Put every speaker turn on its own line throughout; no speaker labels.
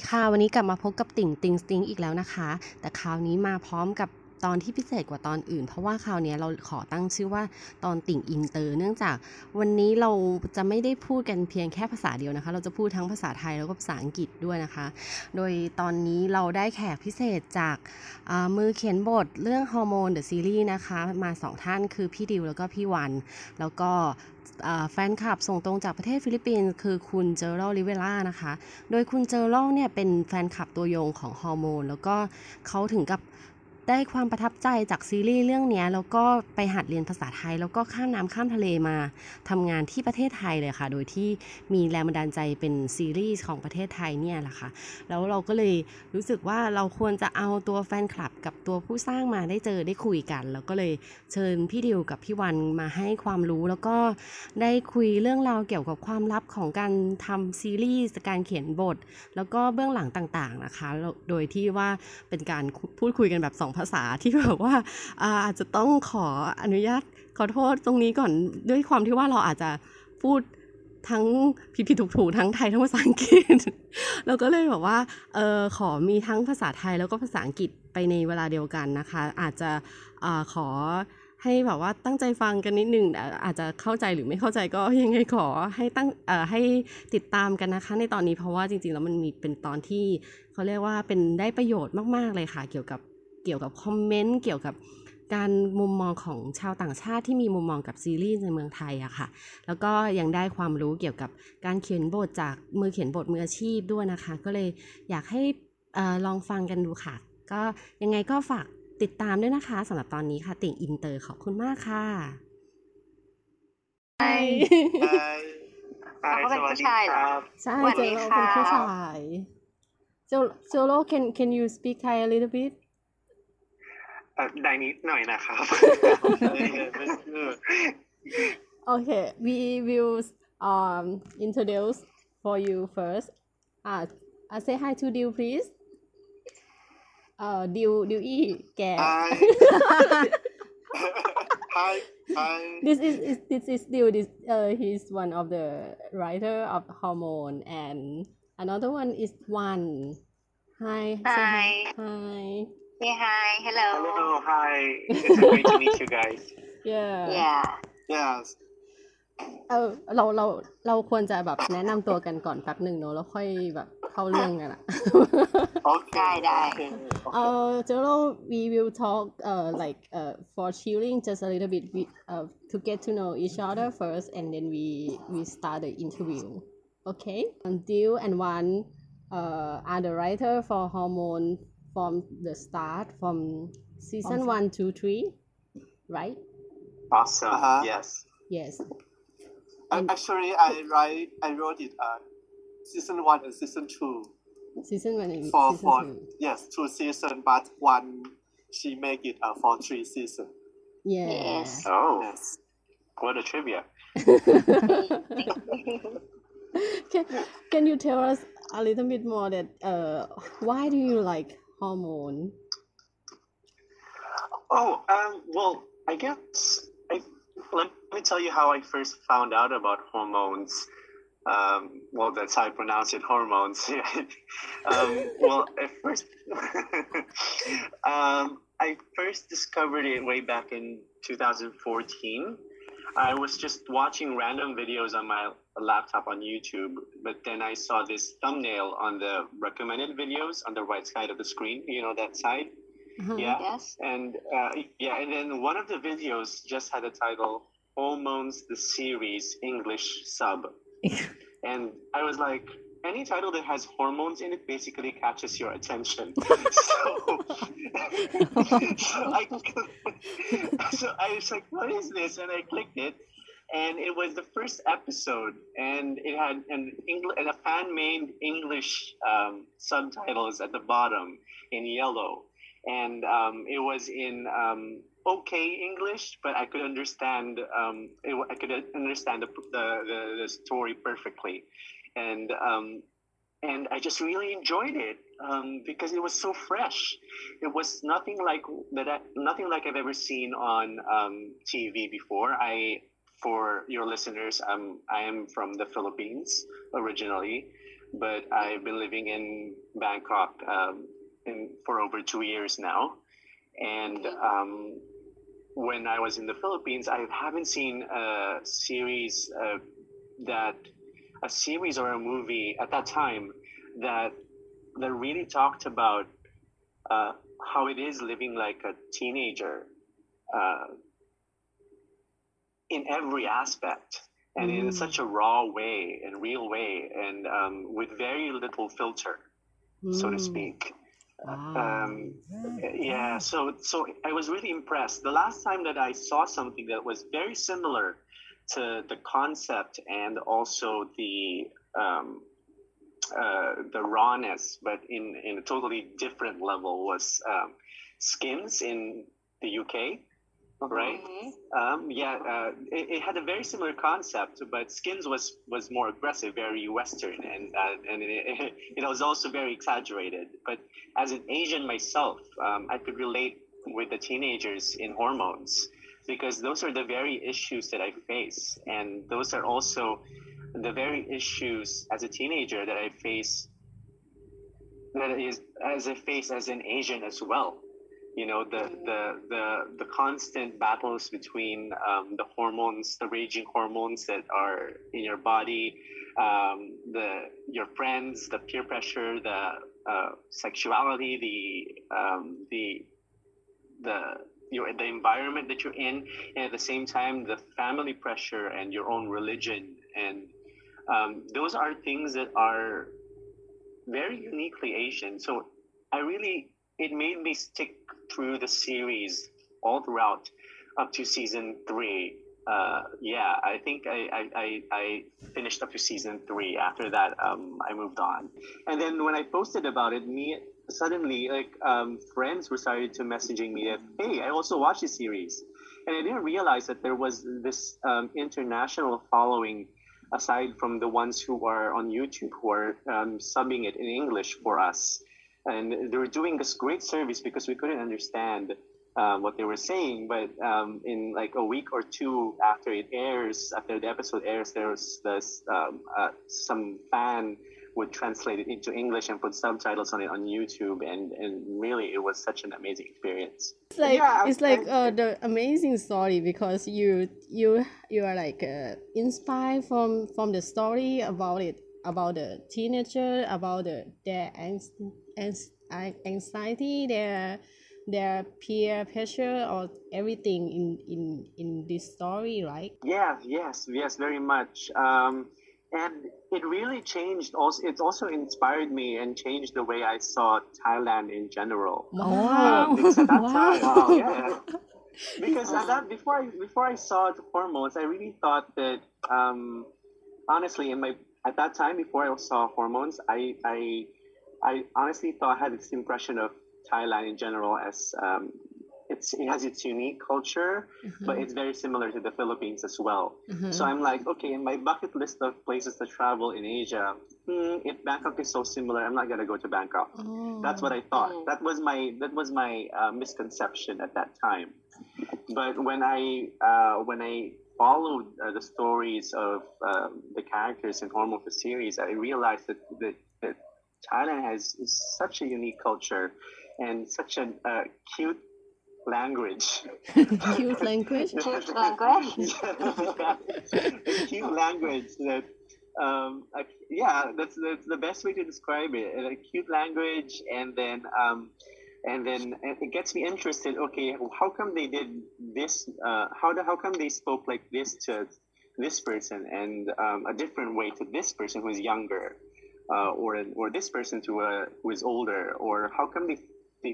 ค่ะวันนี้กลับมาพบกับติ่งติงสติงอีกแล้วนะคะแต่คราวนี้มาพร้อมกับตอนที่พิเศษกว่าตอนอื่นเพราะว่าคราวนี้เราขอตั้งชื่อว่าตอนติ่งอินเตอร์เนื่องจากวันนี้เราจะไม่ได้พูดกันเพียงแค่ภาษาเดียวนะคะเราจะพูดทั้งภาษาไทยแล้วก็ภาษาอังกฤษด้วยนะคะโดยตอนนี้เราได้แขกพิเศษจากมือเขียนบทเรื่องฮอร์โมนเดอะซีรีส์นะคะมา2ท่านคือพี่ดิวแล้วก็พี่วันแล้วก็แฟนคลับส่งตรงจากประเทศฟิลิปปินส์คือคุณเจอรัลลิเวล่านะคะโดยคุณเจอรัลเนี่ยเป็นแฟนคลับตัวยงของฮอร์โมนแล้วก็เขาถึงกับได้ความประทับใจจากซีรีส์เรื่องนี้แล้วก็ไปหัดเรียนภาษาไทยแล้วก็ข้ามน้ำข้ามทะเลมาทำงานที่ประเทศไทยเลยค่ะโดยที่มีแรงบันดาลใจเป็นซีรีส์ของประเทศไทยเนี่ยแหละค่ะแล้วเราก็เลยรู้สึกว่าเราควรจะเอาตัวแฟนคลับกับตัวผู้สร้างมาได้เจอได้คุยกันแล้วก็เลยเชิญพี่ดิวกับพี่วันมาให้ความรู้แล้วก็ได้คุยเรื่องราวเกี่ยวกับความลับของการทำซีรีส์การเขียนบทแล้วก็เบื้องหลังต่างๆนะคะโดยที่ว่าเป็นการพูดคุยกันแบบ2ภาษาที่แบบว่าอาจจะต้องขออนุญาตขอโทษตรงนี้ก่อนด้วยความที่ว่าเราอาจจะพูดทั้งผิดๆถูกๆทั้งไทยทั้งภาษาอังกฤษ เราก็เลยแบบว่าขอมีทั้งภาษาไทยแล้วก็ภาษาอังกฤษไปในเวลาเดียวกันนะคะอาจจะขอให้แบบว่าตั้งใจฟังกันนิดนึงอาจจะเข้าใจหรือไม่เข้าใจก็ยังไงขอให้ให้ติดตามกันนะคะในตอนนี้เพราะว่าจริงๆแล้วมันมีเป็นตอนที่เขาเรียกว่าเป็นได้ประโยชน์มากๆเลยค่ะเกี่ยวกับคอมเมนต์เกี่ยวกับการมุมมองของชาวต่างชาติที่มีมุมมองกับซีรีส์ในเมืองไทยอะค่ะแล้วก็ยังได้ความรู้เกี่ยวกับการเขียนบทจากมือเขียนบทมืออาชีพด้วยนะคะก็เลยอยากให้ลองฟังกันดูค่ะก็ยังไงก็ฝากติดตามด้วยนะคะสำหรับตอนนี้ค่ะติ่งอินเตอร์ขอบคุณมากค่ะ
ใช่
เขาก็เป็นผู้ชายเหรอ
ใช่
สวัส
เจ
ดี
โร
ค่ะ
เป็นผู้ชายเจโร can you speak Thai a little bit
ได้นิดหน่อยนะครับ
Okay we will introduce for you first say hi to Diu please Diuอีแก
Hi
this is Diu he's one of the writer of Hormone and another one is Wan hi
Hi.
hi
Say hi. Hello.
Hello hi it's great to meet you guys
yeah
Yeah.
Yes
เราควรจะแบบแนะนำตัวกันก่อนแป๊บหนึ่งเนอะแล้วค่อยแบบเข้าเรื่องกันอะ
Okay
ได้
Jero we will talk like for chilling just a little bit to get to know each other first and then we start the interview okay and Diu and Wan are the writer for Hormone from the start from season 1 to 3 right
Awesome Yes
yes
Actually, I wrote it season 1 and season 2
season 1 and
for
season 2
yes 2 season, but one she make it for 3 season.
yeah
Yes.
Oh
Yes.
what a trivia
can you tell us a little bit more that why do you like Hormone
well I guess let me tell you how I first found out about hormones well that's how I pronounce it hormones well at first I first discovered it way back in 2014 I was just watching random videos on my laptop on YouTube but then I saw this thumbnail on the recommended videos on the right side of the screen you know that side yeah
Yes.
and and then one of the videos just had the title Hormones the Series English Sub and I was like any title that has hormones in it basically catches your attention so I was like what is this and I clicked it and it was the first episode and it had a fan-made English subtitles at the bottom in yellow and it was in okay English but I could understand I could understand the story perfectly and I just really enjoyed it because it was so fresh. It was nothing like I've ever seen on TV before. For your listeners, I am from the Philippines originally, but I've been living in Bangkok for over 2 years now. And when I was in the Philippines, I haven't seen a series or a movie at that time that really talked about how it is living like a teenager in every aspect, and in such a raw way and real way, and with very little filter, so to speak. Yeah, so I was really impressed. The last time that I saw something that was very similar to the concept and also the rawness, but in a totally different level, was Skins in the UK, right? It had a very similar concept, but Skins was more aggressive, very Western, and it was also very exaggerated. But as an Asian myself, I could relate with the teenagers in Hormones, because those are the very issues that I face, and those are also the very issues as a teenager that I face as an Asian as well. You know, the constant battles between the hormones, the raging hormones that are in your body, your friends, the peer pressure, the sexuality, the environment that you're in, and at the same time the family pressure and your own religion, and those are things that are very uniquely Asian. So it made me stick through the series all throughout up to season 3. I think I finished up to season 3. After that, I moved on. And then when I posted about it, suddenly friends were started to messaging me that, hey, I also watched this series. And I didn't realize that there was this international following, aside from the ones who are on YouTube, who are subbing it in English for us. And they were doing this great service because we couldn't understand what they were saying. But in like a week or two after the episode airs, there was this some fan would translate it into English and put subtitles on it on YouTube, and really it was such an amazing experience.
It's like the amazing story, because you are like inspired from the story about the teenager, about their anxiety, their peer pressure, or everything in this story, right?
Yes, very much. And it really changed. Also, it also inspired me and changed the way I saw Thailand in general.
Wow!
Because at that time, yeah. Because before I saw the Hormones, I really thought that honestly, at that time before I saw Hormones, I honestly thought I had this impression of Thailand in general as it has its unique culture, but it's very similar to the Philippines as well. So I'm like, okay, in my bucket list of places to travel in Asia, if Bangkok is so similar, I'm not gonna go to Bangkok. That's what I thought. That was my misconception at that time. But when I followed the stories of the characters in Hormone the series, I realized that Thailand has such a unique culture and such a cute language.
Cute language?
Cute language?
A cute language that, that's the best way to describe it. A cute language, and then it gets me interested. Okay, how come they did this? How come they spoke like this to this person, and a different way to this person who is younger, or this person who is older, or how come they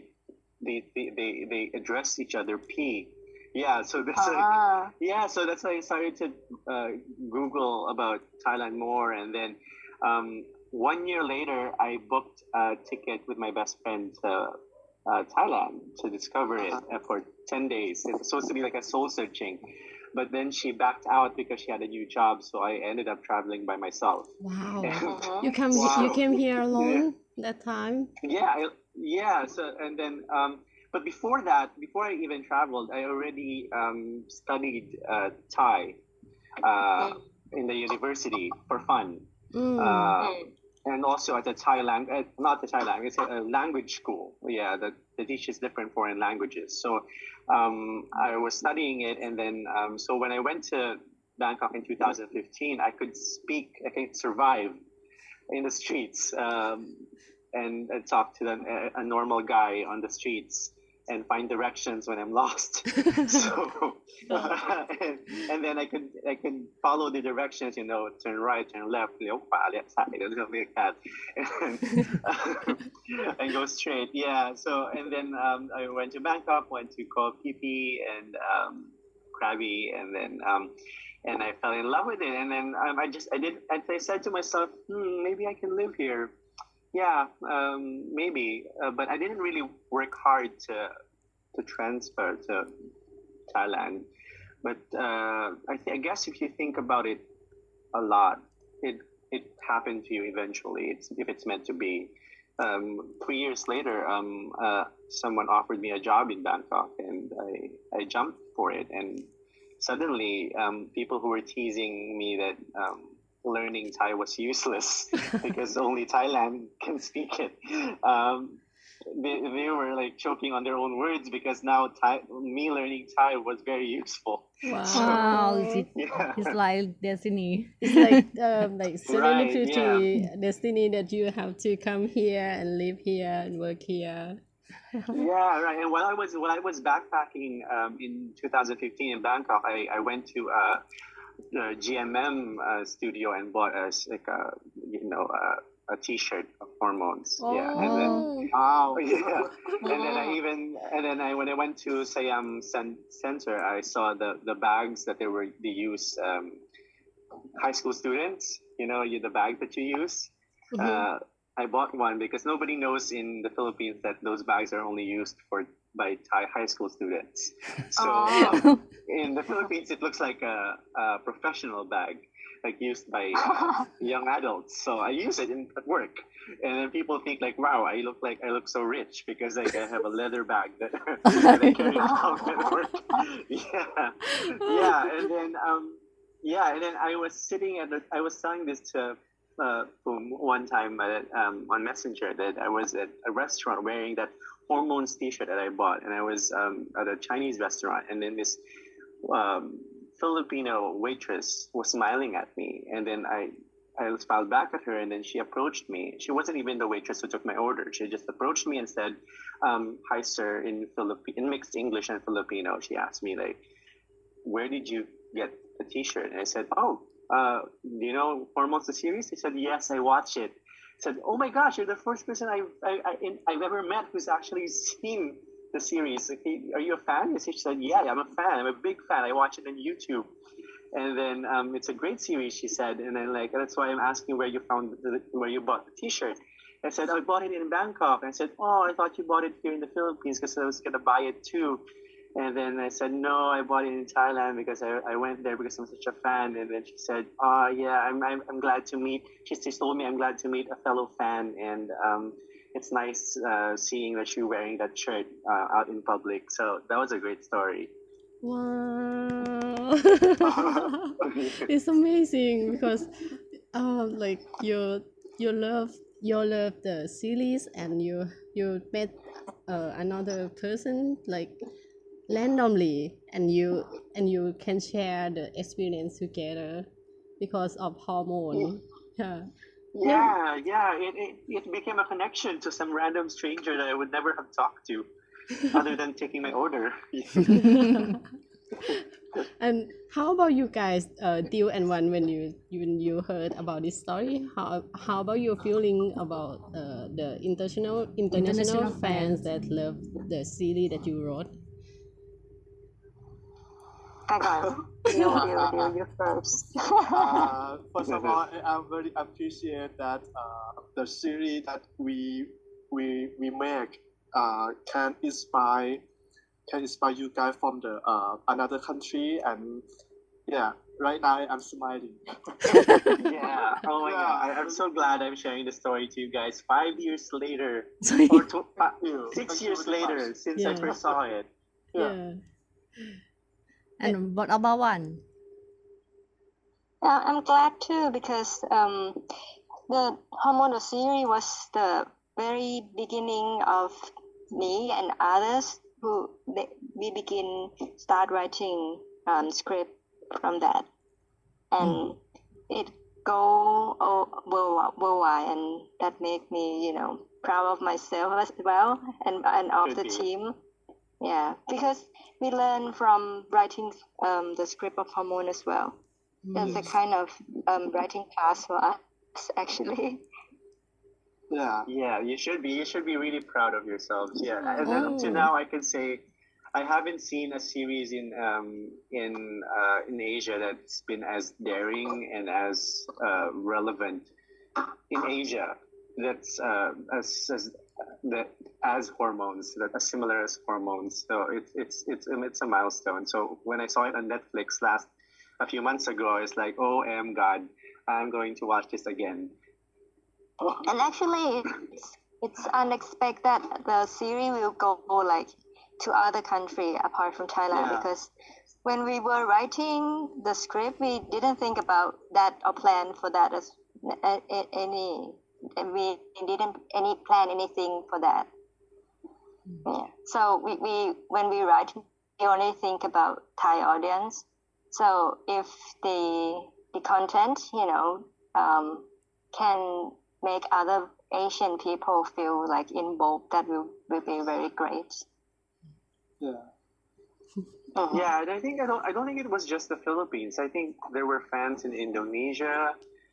address each other P? So that's so that's why I started to Google about Thailand more, and then 1 year later I booked a ticket with my best friend to Thailand to discover it for 10 days. It was supposed to be like a soul searching, but then she backed out because she had a new job, so I ended up traveling by myself.
Wow. You came here alone that time?
So, and then but before I even traveled, I already studied Thai in the university for fun. and also at the Thailand, not the Thailand, it's a language school. Yeah, the teach is different foreign languages. So I was studying it, and then so when I went to Bangkok in 2015, I could survive in the streets and talk to a normal guy on the streets and find directions when I'm lost. So and then I could follow the directions, turn right, turn left, เลี้ยวขวา เลี้ยวซ้าย something like that, and go straight. Yeah. So and then I went to Bangkok, went to Koh Phi Phi and Krabi, and then and I fell in love with it. And then I said to myself, maybe I can live here. Yeah, maybe, but I didn't really work hard to transfer to Thailand. But I guess if you think about it a lot, it happened to you eventually. If it's meant to be. 3 years later, someone offered me a job in Bangkok, and I jumped for it. And suddenly, people who were teasing me that learning Thai was useless because only Thailand can speak it. They were like choking on their own words because now me learning Thai was very useful.
Wow.
So,
It's like destiny.
It's like serendipity, destiny that you have to come here and live here and work here.
Yeah, right. And while I was backpacking in 2015 in Bangkok, I went to GMM studio and bought a T-shirt of Hormones. Yeah, and then
Wow.
yeah, and then when I went to Siam Center, I saw the bags that they use high school students. The bag that you use. I bought one because nobody knows in the Philippines that those bags are only used by Thai high school students. So in the Philippines, it looks like a professional bag, like used by young adults. So I use it at work, and then people think like, "Wow, I look so rich because I have a leather bag that I carry around at work." Yeah, and then I was telling this to one time on Messenger that I was at a restaurant wearing that Hormones T-shirt that I bought, and I was at a Chinese restaurant, and then this Filipino waitress was smiling at me, and then I smiled back at her, and then she approached me. She wasn't even the waitress who took my order. She just approached me and said, "Hi, sir," in mixed English and Filipino. She asked me like, "Where did you get the T-shirt?" And I said, "Oh, do you know Hormones the series?" He said, "Yes, I watch it." I said, "Oh my gosh, you're the first person I've ever met who's actually seen the series. Like, are you a fan?" She said, "Yeah, I'm a fan. I'm a big fan. I watch it on YouTube." And then it's a great series, she said. And then that's why I'm asking where you bought the T-shirt. I said, "I bought it in Bangkok." And I said, "Oh, I thought you bought it here in the Philippines because I was gonna buy it too." And then I said, "No, I bought it in Thailand because I went there because I'm such a fan." And then she said, "Oh yeah, I'm glad to meet." She told me, "I'm glad to meet a fellow fan, and it's nice seeing that you're wearing that shirt out in public." So that was a great story.
Wow. It's amazing because like you love the series, and you met another person like randomly, and you can share the experience together because of Hormone.
It became a connection to some random stranger that I would never have talked to other than taking my order.
And how about you guys, Deal and One, when you heard about this story? How about your feeling about the international fans that love the series that you wrote?
You first.
First of all, I very appreciate that the series that we make can inspire you guys from the another country, and yeah, right now I'm smiling.
Yeah. Oh my God. I'm so glad I'm sharing the story to you guys 5 years later, or 6 years later since I first saw it.
Yeah.
And what about one?
I'm glad too because The Hormonal series was the very beginning of me and others we start writing script from that, and it worldwide, and that make me proud of myself as well, and of the team. Yeah, because we learn from writing the script of Hormone as well. That's a kind of writing class for us, actually.
Yeah, you should be really proud of yourselves. Yeah, and then up to now, I can say I haven't seen a series in Asia that's been as daring and as relevant in Asia. That's as Hormones, that as similar as Hormones. So it's a milestone. So when I saw it on Netflix a few months ago, I was like, oh, God, I'm going to watch this again.
And actually, it's unexpected that the series will go like to other country apart from Thailand, because when we were writing the script, we didn't think about that or plan for that as any. And we didn't plan anything for that. Yeah. So we when we write, we only think about Thai audience. So if the content, can make other Asian people feel like involved, that will be very great.
Yeah, and I don't think it was just the Philippines. I think there were fans in Indonesia,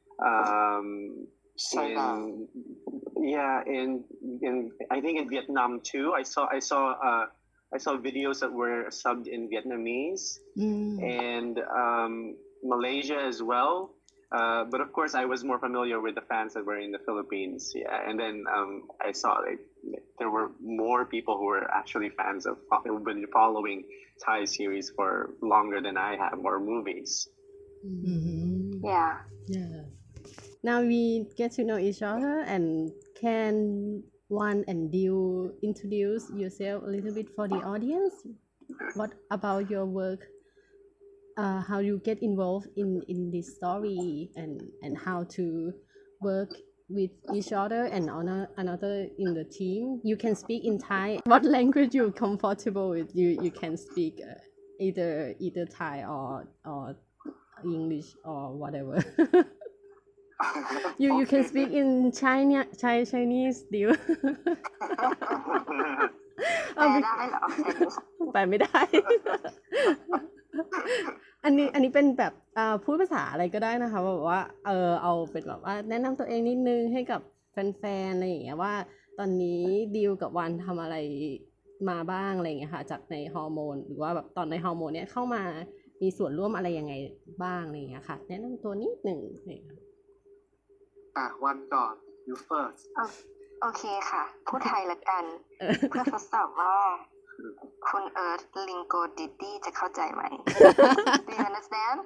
in I think in Vietnam too. I saw videos that were subbed in Vietnamese and Malaysia as well. But of course, I was more familiar with the fans that were in the Philippines. Yeah, and then I saw there were more people who were actually fans of, who've been following Thai series for longer than I have, or movies.
Yeah.
Now we get to know each other, and can Wan and Diu introduce yourself a little bit for the audience? What about your work? How you get involved in this story, and how to work with each other and another in the team. You can speak in Thai. What language you're comfortable with? You can speak either Thai or English or whatever. You can speak in Chinese ดิว ไปไม่ได้ อันนี้เป็นแบบพูดภาษาอะไรก็ได้นะคะแบบว่าเอาเป็นแบบว่าแนะนำตัวเองนิดนึงให้กับแฟนๆอะไรอย่างเงี้ยว่าตอนนี้ดิวกับวันทำอะไรมาบ้างอะไรอย่างเงี้ยค่ะจากในฮอร์โมนหรือว่าแบบตอนในฮอร์โมนเนี้ยเข้ามามีส่วนร่วมอะไรยังไงบ้างอะไรอย่างเงี้ยค่ะแนะนำตัวนิดนึง
วันก่อน you first
โอเคค่ะพูดไทยละกันเพื่อทดสอบว่าคุณเอิร์ธลิงโกดิตี้จะเข้าใจไหม Do you understand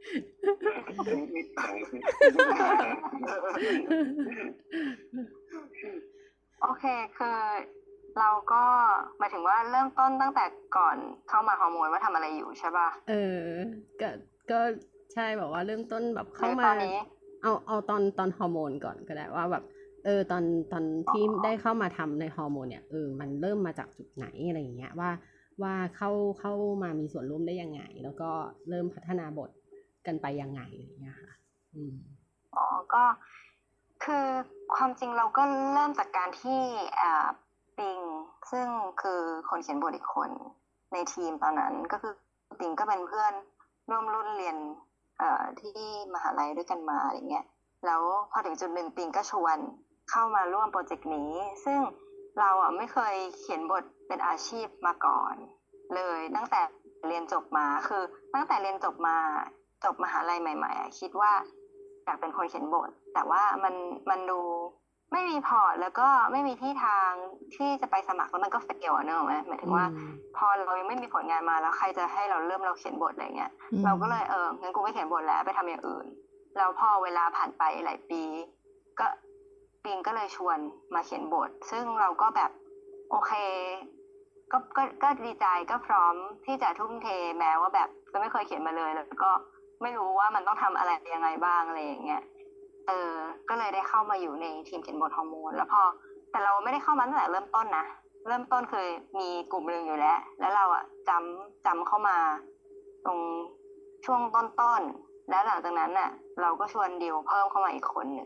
โอเคคือเราก็หมายถึงว่าเริ่มต้นตั้งแต่ก่อนเข้ามาฮอร์โมนว่าทำอะไรอยู่ใช่ป่ะ
ก็ใช่แบบว่าเริ่มต้นแบบเข้ามาเอาตอนฮอร์โมนก่อนก็ได้ว่าแบบตอนที่ได้เข้ามาทำในฮอร์โมนเนี่ยมันเริ่มมาจากจุดไหนอะไรอย่างเงี้ยว่าเข้ามามีส่วนร่วมได้ยังไงแล้วก็เริ่มพัฒนาบทกันไปยังไงอะไรอย่างเงี้ยค่ะ
ก็คือความจริงเราก็เริ่มจากการที่ปิงซึ่งคือคนเขียนบทอีกคนในทีมตอนนั้นก็คือปิงก็เป็นเพื่อนร่วมรุ่นเรียนที่มหาลัยด้วยกันมาอะไรเงี้ยแล้วพอถึงจุดหนึ่งปิงก็ชวนเข้ามาร่วมโปรเจกต์นี้ซึ่งเราไม่เคยเขียนบทเป็นอาชีพมาก่อนเลยตั้งแต่เรียนจบมาคือตั้งแต่เรียนจบมหาลัยใหม่ๆคิดว่าอยากเป็นคนเขียนบทแต่ว่ามันดูไม่มีพอร์ตแล้วก็ไม่มีที่ทางที่จะไปสมัครแล้วมันก็เฟลเนอะหมายถึงว่าพอเรายังไม่มีผลงานมาแล้วใครจะให้เราเขียนบทอะไรเงี้ยเราก็เลยงั้นกูไม่เขียนบทแล้วไปทำอย่างอื่นแล้วพอเวลาผ่านไปหลายปีก็ปิงก็เลยชวนมาเขียนบทซึ่งเราก็แบบโอเคก็ดีใจก็พร้อมที่จะทุ่มเทแม้ว่าแบบก็ไม่เคยเขียนมาเลยแล้วก็ไม่รู้ว่ามันต้องทำอะไรยังไงบ้างอะไรอย่างเงี้ยก็เลยได้เข้ามาอยู่ในทีมเขียนบทฮอร์โมนแล้วแต่เราไม่ได้เข้ามาตั้งแต่เริ่มต้นนะเริ่มต้นคือมีกลุ่มหนึ่งอยู่แล้วเราอะจำเข้ามาตรงช่วงต้นแล้วหลังจากนั้นน่ะเราก็ชวนดิวเพิ่มเข้ามาอีกคนหนึ่ง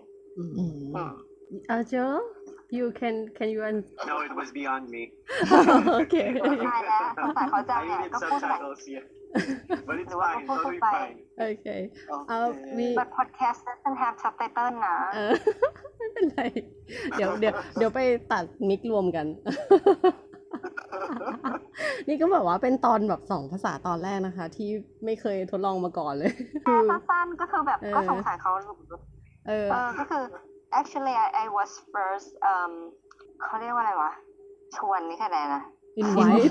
Joe you can you
No, it was beyond me.
okay
ใช่แล้วภาษาเขาจำ
I
เนี่ย
needed
ก็พูดภาษา
subtitles, yeah. But it's
หรือว่า
fine,
ก็พูด
totally
ไป
fine.
okay
Okay.
we
but podcast doesn't have subtitle นะ
ไม่เป็นไรเดี๋ยวไปตัดมิกรวมกัน นี่ก็แบบว่าเป็นตอนแบบ2 ภาษาตอนแรกนะคะ ที่ไม่เคยทดลองมาก่อนเลย
สั้นๆก็คือแบบก็สงสัยเขาก็คือ actually I was first เขาเรียกว่าอะไรวะชวนนี่แค่ไหนนะ
invite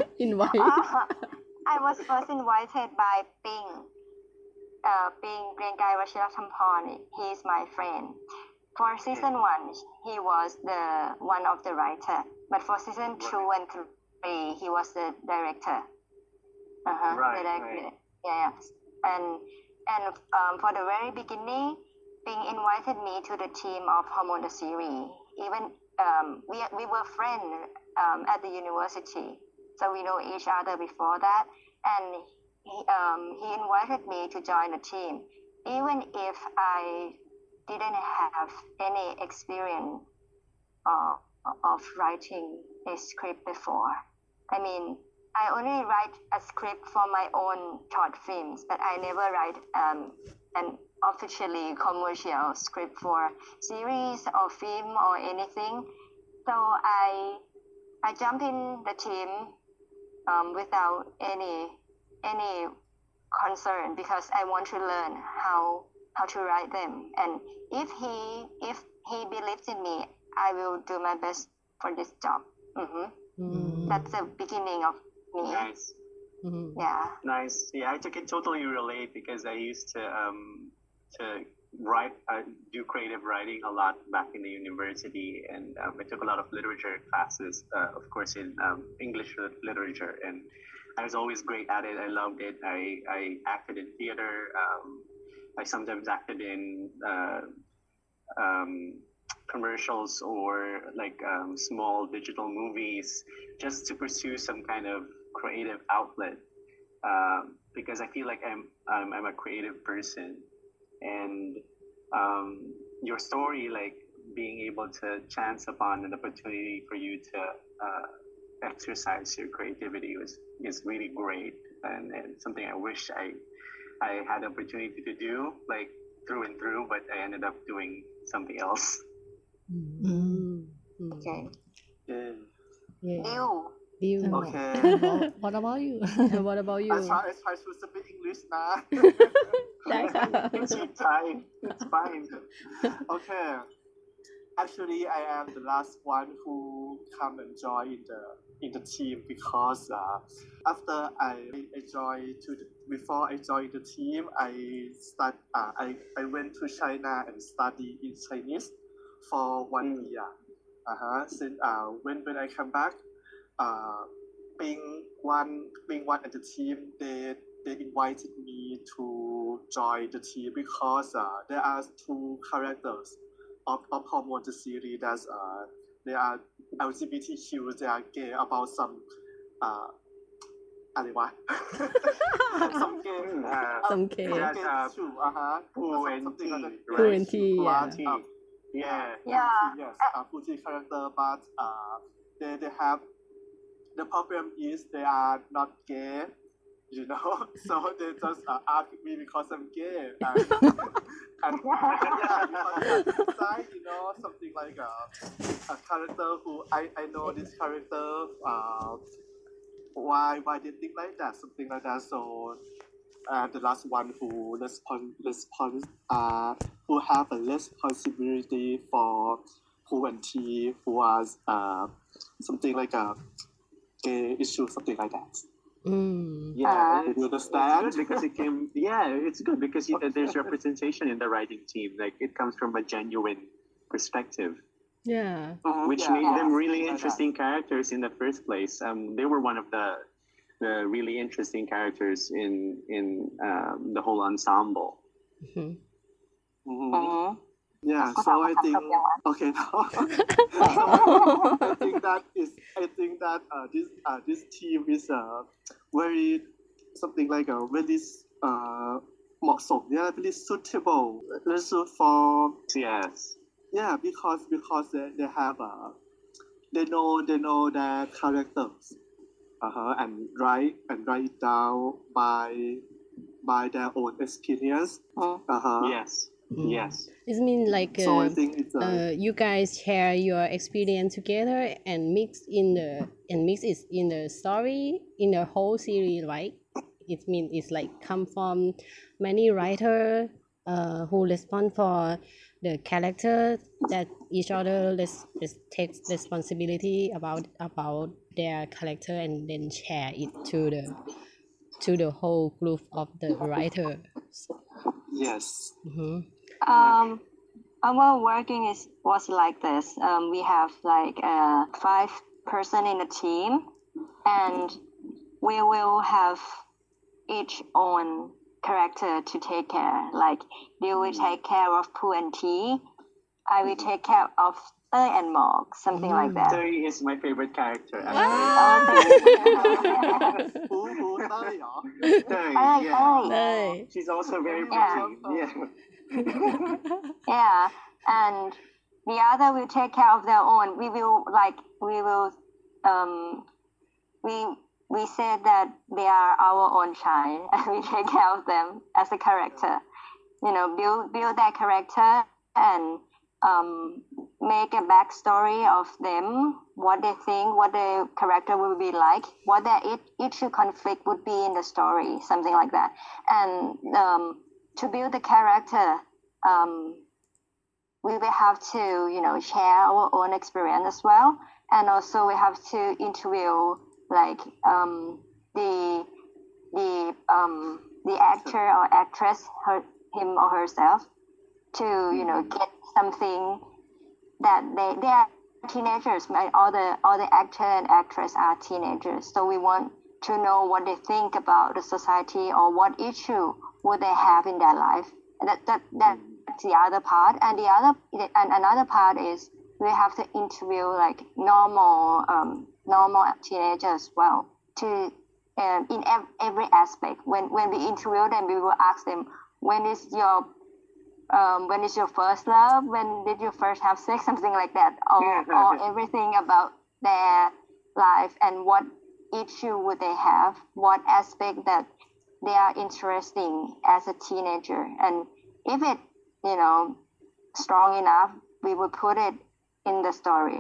I was first invited by Ping Ping เกรียงไกรวชิรธรรมพร he is my friend for season 1 he was the one of the writer but for season 2 and 3 he was the director
Right.
yeah and for the very beginning Ping invited me to the team of Hormone the series even we were friends at the university so we know each other before that and he invited me to join the team even if I didn't have any experience of writing a script before. I mean, I only write a script for my own short films, but I never write an officially commercial script for series or film or anything. So I jump in the team without any concern because I want to learn how to write them. And if he believes in me, I will do my best for this job. That's the beginning of me.
Nice.
Yeah.
Nice. Yeah, I can totally relate because I used to write, do creative writing a lot back in the university, and I took a lot of literature classes, of course, in English literature, and I was always great at it. I loved it. I acted in theater. I sometimes acted in commercials or like small digital movies just to pursue some kind of creative outlet because I feel like I'm a creative person and your story like being able to chance upon an opportunity for you to exercise your creativity is really great and something I wish I had the opportunity to do like through and through, but I ended up doing something else.
Okay.
Yeah.
Deal.
Okay.
What about you What about you
I try to speak English now.
ได้ค่ะ
It's your time. It's fine.
Okay. Actually, I am the last one who come and join in the team because after before I joined the team, I went to China and study in Chinese for 1 year. Since when I come back, being one at the team, they invited me to join the team because there are 2 characters of Hormone the series that they are LGBTQ, they are gay about some อะไรวะ some gay
Some gay.
too
Pooh and
something like that.
Tea,
Pooh and Tea,
yeah.
Yes, Fuji character, but they have the problem is they are not gay, you know. So they just ask me because I'm gay, and yeah, because inside, you know, something like a character who I know this character. Why they think like that? Something like that. So the last one who who have a responsibility for Pooh and Tea, who was something like a gay issue, something like that.
Yeah,
You understand?
it's good because it's good because there's representation in the writing team. Like it comes from a genuine perspective,
Yeah.
which made them really interesting characters in the first place. They were one of the really interesting characters in the whole ensemble.
Yeah,
ก็
so
ถาม
I
คำถาม
think
จบยังวะ
okay now I think that this team is very something like a very เหมาะสม yeah very suitable very suit for
Yes.
yeah because they have they know their characters and write it down by their own experience
Yes.
Mm.
Yes.
It means like
so I think it's
you guys share your experience together and mix it in the story in the whole series, right? It means it's like come from many writers who respond for the character that each other takes responsibility about their character and then share it to the whole group of the writers.
yes
Mhm.
Our working was like this. We have like 5 person in a team, and we will have each own character to take care. Like you will take care of Pooh and Tea. I will take care of Tơi and Mog, something like that.
Tơi is my favorite character.
Oh,
who เต้ยเหรอ
Tơi,
Tơi,
yeah.
Tơi.
Tơi.
She's also very
Yeah.
pretty. Yeah.
Yeah, and the other will take care of their own. We said that they are our own child, and we take care of them as a character. Build their character and make a backstory of them, what they think, what the character will be like, what their issue conflict would be in the story, something like that. And to build the character, we will have to, share our own experience as well. And also we have to interview like the actor or actress, him or herself, to get something that they are teenagers. All the actor and actress are teenagers, so we want to know what they think about the society or what issue would they have in their life. That's the other part, and another part is we have to interview like normal teenagers as well to in every aspect. When we interview them, we will ask them, when is your first love? When did you first have sex? Something like that, or everything about their life and what issue would they have, what aspect that they are interesting as a teenager, and if it strong enough, we will put it in the story.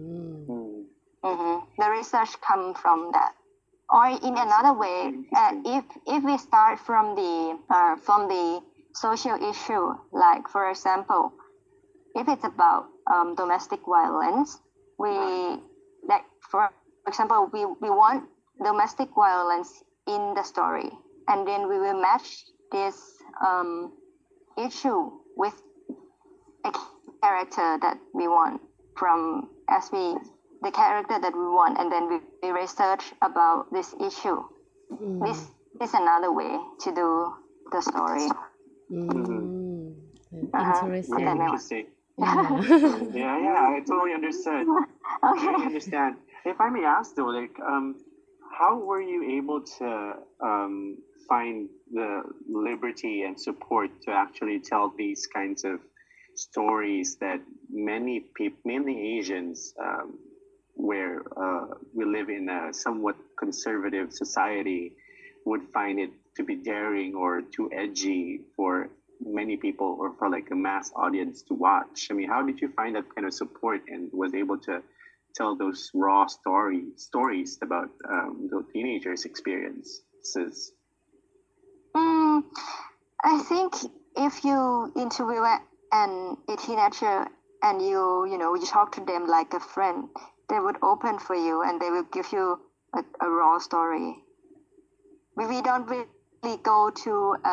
The research come from that. Or in another way, if we start from the social issue, like for example, if it's about domestic violence, for example, we want domestic violence in the story, and then we will match this issue with a character that we want the character that we want, and then we research about this issue. This is another way to do the story.
Interesting.
Very interesting. Yeah, I totally understood.
Okay.
I understand. If I may ask though, like, how were you able to find the liberty and support to actually tell these kinds of stories that mainly Asians, where we live in a somewhat conservative society, would find it to be daring or too edgy for many people or for like a mass audience to watch? I mean, how did you find that kind of support and was able to tell those raw stories about the teenagers' experiences?
I think if you interview a teenager and you talk to them like a friend, they would open for you and they will give you a raw story. We don't really go to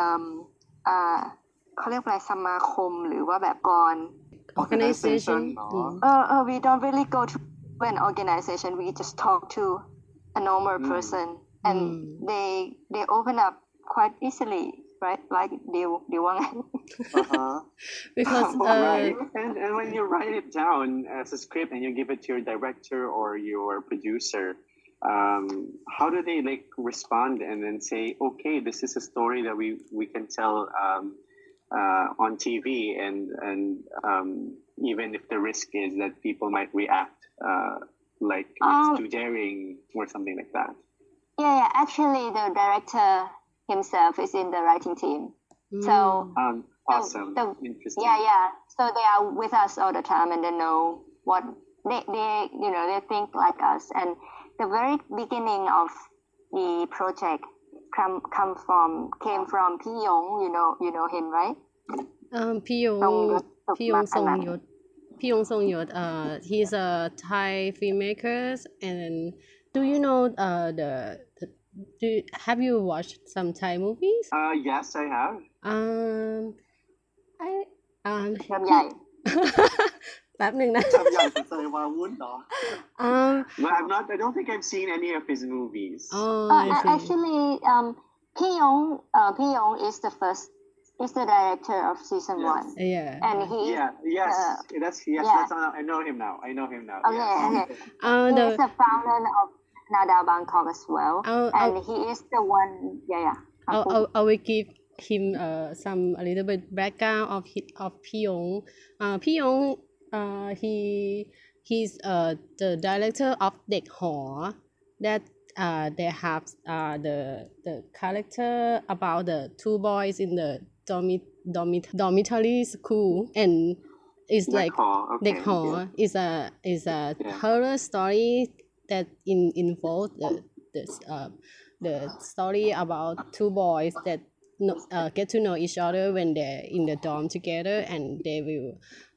เขาเรียกอะไรสมาคมหรือว่าแบบกร
Organization.
We don't really go to an organization. We just talk to a normal person, and they open up quite easily right? Like dealว่าไง
Uh-huh.
because
Right. And when you write it down as a script and you give it to your director or your producer, how do they like respond and then say, okay, this is a story that we can tell on TV, and even if the risk is that people might react like it's too daring or something like that.
Yeah, actually the director himself is in the writing team. So
Awesome. Interesting.
yeah. So they are with us all the time and they know what they they think like us. And the very beginning of the project came from Pi Yong. You know him, right?
พี่ยง พี่ยงทรงยศ พี่ยงทรงยศ he's a Thai filmmaker and do you know have you watched some Thai movies
Yes, I have.
I
ลำใหญ่
แป๊บหนึ่งนะ
จำใหญ่เป็นใจวาวุ่นเหรอ
No, I don't think I've seen any of his movies.
I see.
Actually, Pi Yong is the director of season
Yes.
1,
yeah
and he
Yeah. Yes. That's
yeah.
That's. I know him now.
okay,
Yes.
okay. He
the
is the founder of Nada Bangkok as well, and he is the one. Yeah.
I will give him some a little bit background of Pyong. Pyong he's the director of Dek Ho that they have the character about the two boys in the dormitory school, and it's like
Okay.
Dek Ho is a horror story that involves the story about two boys that get to know each other when they're in the dorm together, and they will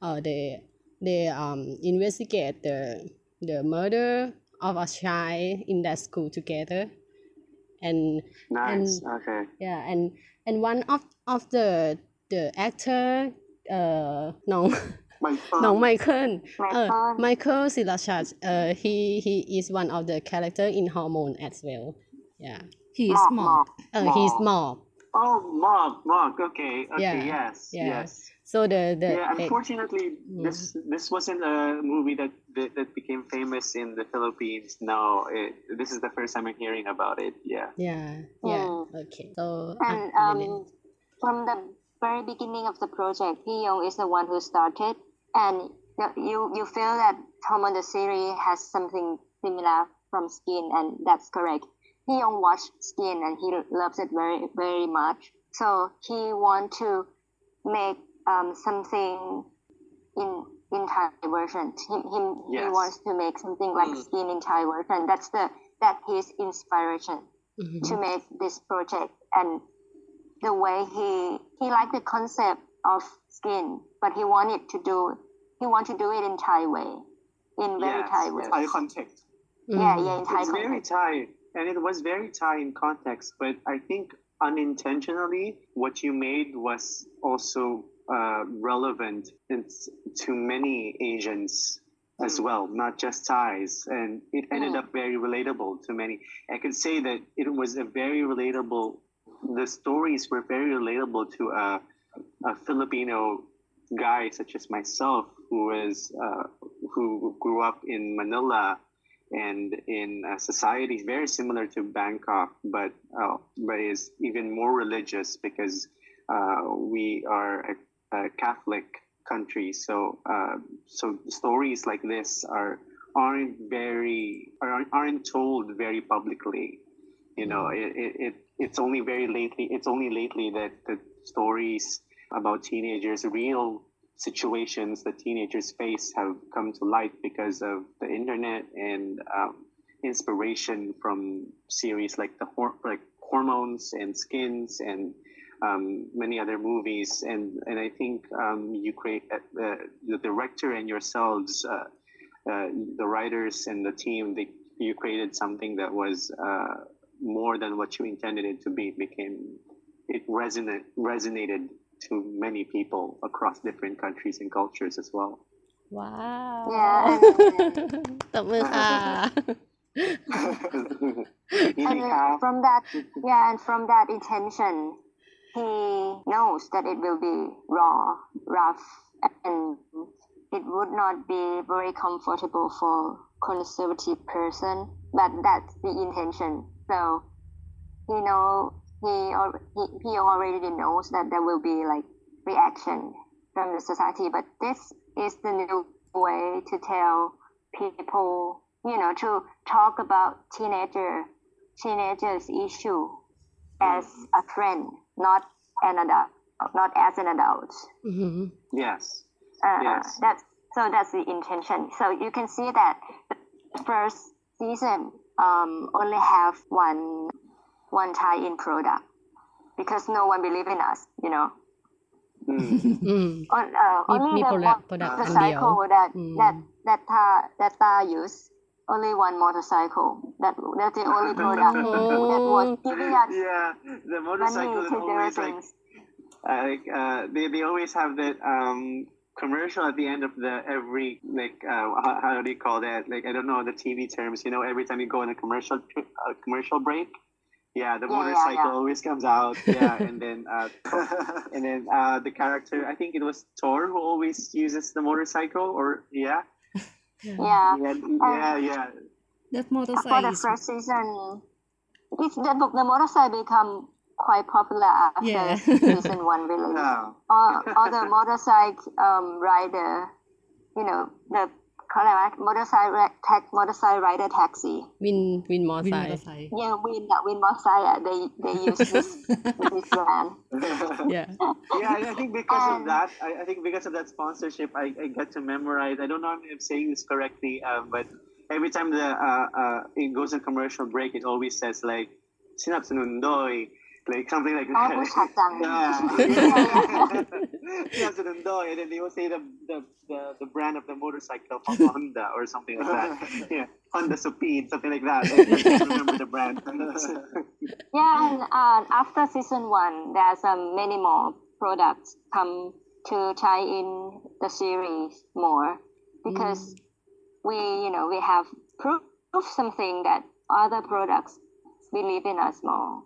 they investigate the murder of a child in that school together, and
Nice. Okay.
yeah, and one of the actor น้อง น้องไมเคิล ไมเคิลศิลชัดhe is one of the character in Hormone as well. Yeah,
he is
Mob.
he's Mob.
Oh, Mog. Okay.
Yeah.
Yes.
Yeah.
Yes.
So the
Yeah. Unfortunately, this wasn't a movie that became famous in the Philippines. No, this is the first time I'm hearing about it. Yeah.
yeah okay so
And from the very beginning of the project, Pi Yong is the one who started, and you feel that Hormone the series has something similar from Skin, and that's correct. Pi Yong watched Skin and he loves it very very much. So he want to make something in Thai version. He
Yes.
wants to make something like Skin in Thai version. That's his inspiration to make this project, and the way he liked the concept of Skin, but he wanted to do it in Thai way, in very
Yes,
Thai
yes.
way.
Thai context
Yeah, in Thai
It's very
context.
Thai, and it was very Thai in context, but I think unintentionally what you made was also relevant to many Asians as well, not just Thais, and it ended up very relatable to many. I could say that it was a very relatable. The stories were very relatable to a Filipino guy such as myself, who grew up in Manila and in society very similar to Bangkok, but is even more religious because we are a Catholic country. So stories like this aren't told very publicly. You know, it's only lately that the stories about teenagers, real situations that teenagers face, have come to light because of the internet and inspiration from series like Hormones and Skins and many other movies. And I think you create the director and yourselves, the writers and the team, you created something that was more than what you intended it to be. It resonated to many people across different countries and cultures as well.
wow
Yeah.
ตบมือค่ะ
And from that intention, he knows that it will be raw, rough, and it would not be very comfortable for conservative person, but that's the intention. So he already knows that there will be like reaction from the society, but this is the new way to tell people, to talk about teenagers issue as a friend, not an adult, not as an adult.
Mm-hmm.
Yes. Yes.
That's the intention. So you can see that the first season only have one tie-in product because no one believe in us,
Mm.
Only the motorcycle that Tha use, only one motorcycle. That's the only product that was giving us
Yeah, the motorcycle is
money to do
always
things.
they always have that commercial at the end of the every how do you call that, I don't know the TV terms, every time you go on a commercial break, the motorcycle always comes out, and then the character, I think it was Thor, who always uses the motorcycle, or
Yeah.
That
For
motorcycle
the
is
first season, the motorcycle become quite popular after
Yeah.
season 1 release.
Yeah.
All the motorcycle rider, the motorcycle rider taxi.
Win
Win
motorcycle.
motorcycle.
Yeah, Win motorcycle. They use this brand.
Yeah.
I think because of that, I think because of that sponsorship, I get to memorize. I don't know if I'm saying this correctly, but every time it goes in commercial break, it always says like "Sinapsunundoy," like something like that.
Oh, Pushatang.
Sinapsunundoy, and then they will say the brand of the motorcycle, Honda or something like that. Yeah, Honda Supid, something like that. I can't remember the brand.
And after season 1, there's many more products come to tie in the series more because we have proof something that other products believe in us more.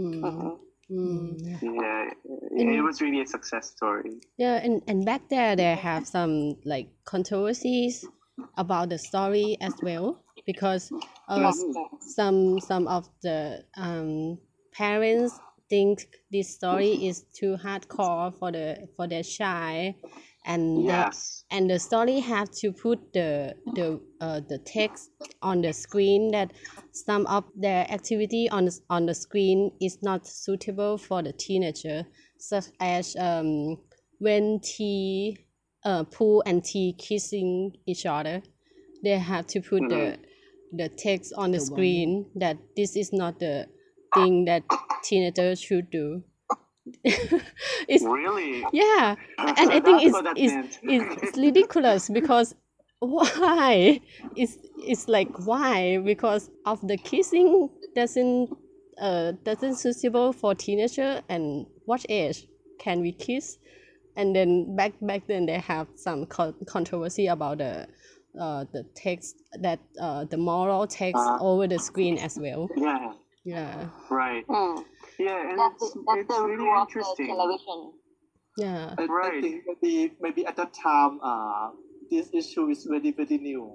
It was really a success story.
Yeah, and back there they have some like controversies about the story as well, because some of the parents think this story is too hardcore for their child, and and the story have to put the text on the screen that some of their activity on the screen is not suitable for the teenager, such as when Pooh and T kissing each other, they have to put the text on the screen that this is not the thing that teenagers should do. It's
Really?
yeah, and I think it's ridiculous because why? It's like why? Because of the kissing doesn't suitable for teenager, and what age can we kiss? And then back then they have some controversy about the text that the moral text over the screen as well. Yeah.
Right. Yeah, and
That's
it's
the
really
rule of the
interesting.
television.
Yeah.
I think maybe at that time, this issue is very new.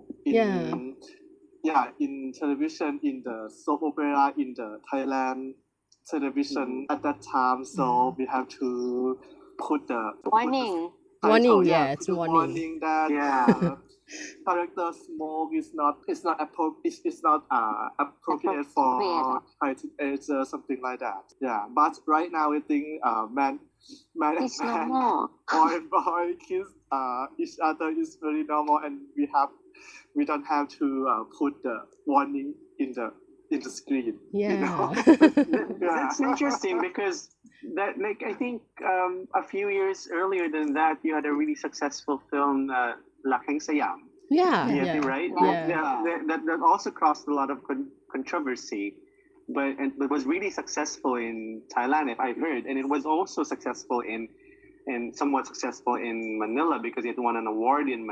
In television, in the soap opera, in the Thailand television at that time. So we have to put the
Warning.
Warning,
put
it's
the
warning.
warning that character smoke is not appropriate for high teenager, something like that. Yeah, but right now I think man
It's
and man,
normal.
boy and boy kiss each other is very normal, and we don't have to put the warning in the screen.
Yeah.
That's interesting because that I think a few years earlier than that you had a really successful film, Laking Sayang.
Yeah.
Right?
Yeah.
That also caused a lot of controversy, but was really successful in Thailand, if I've heard, and it was also successful in somewhat successful in Manila because it won an award in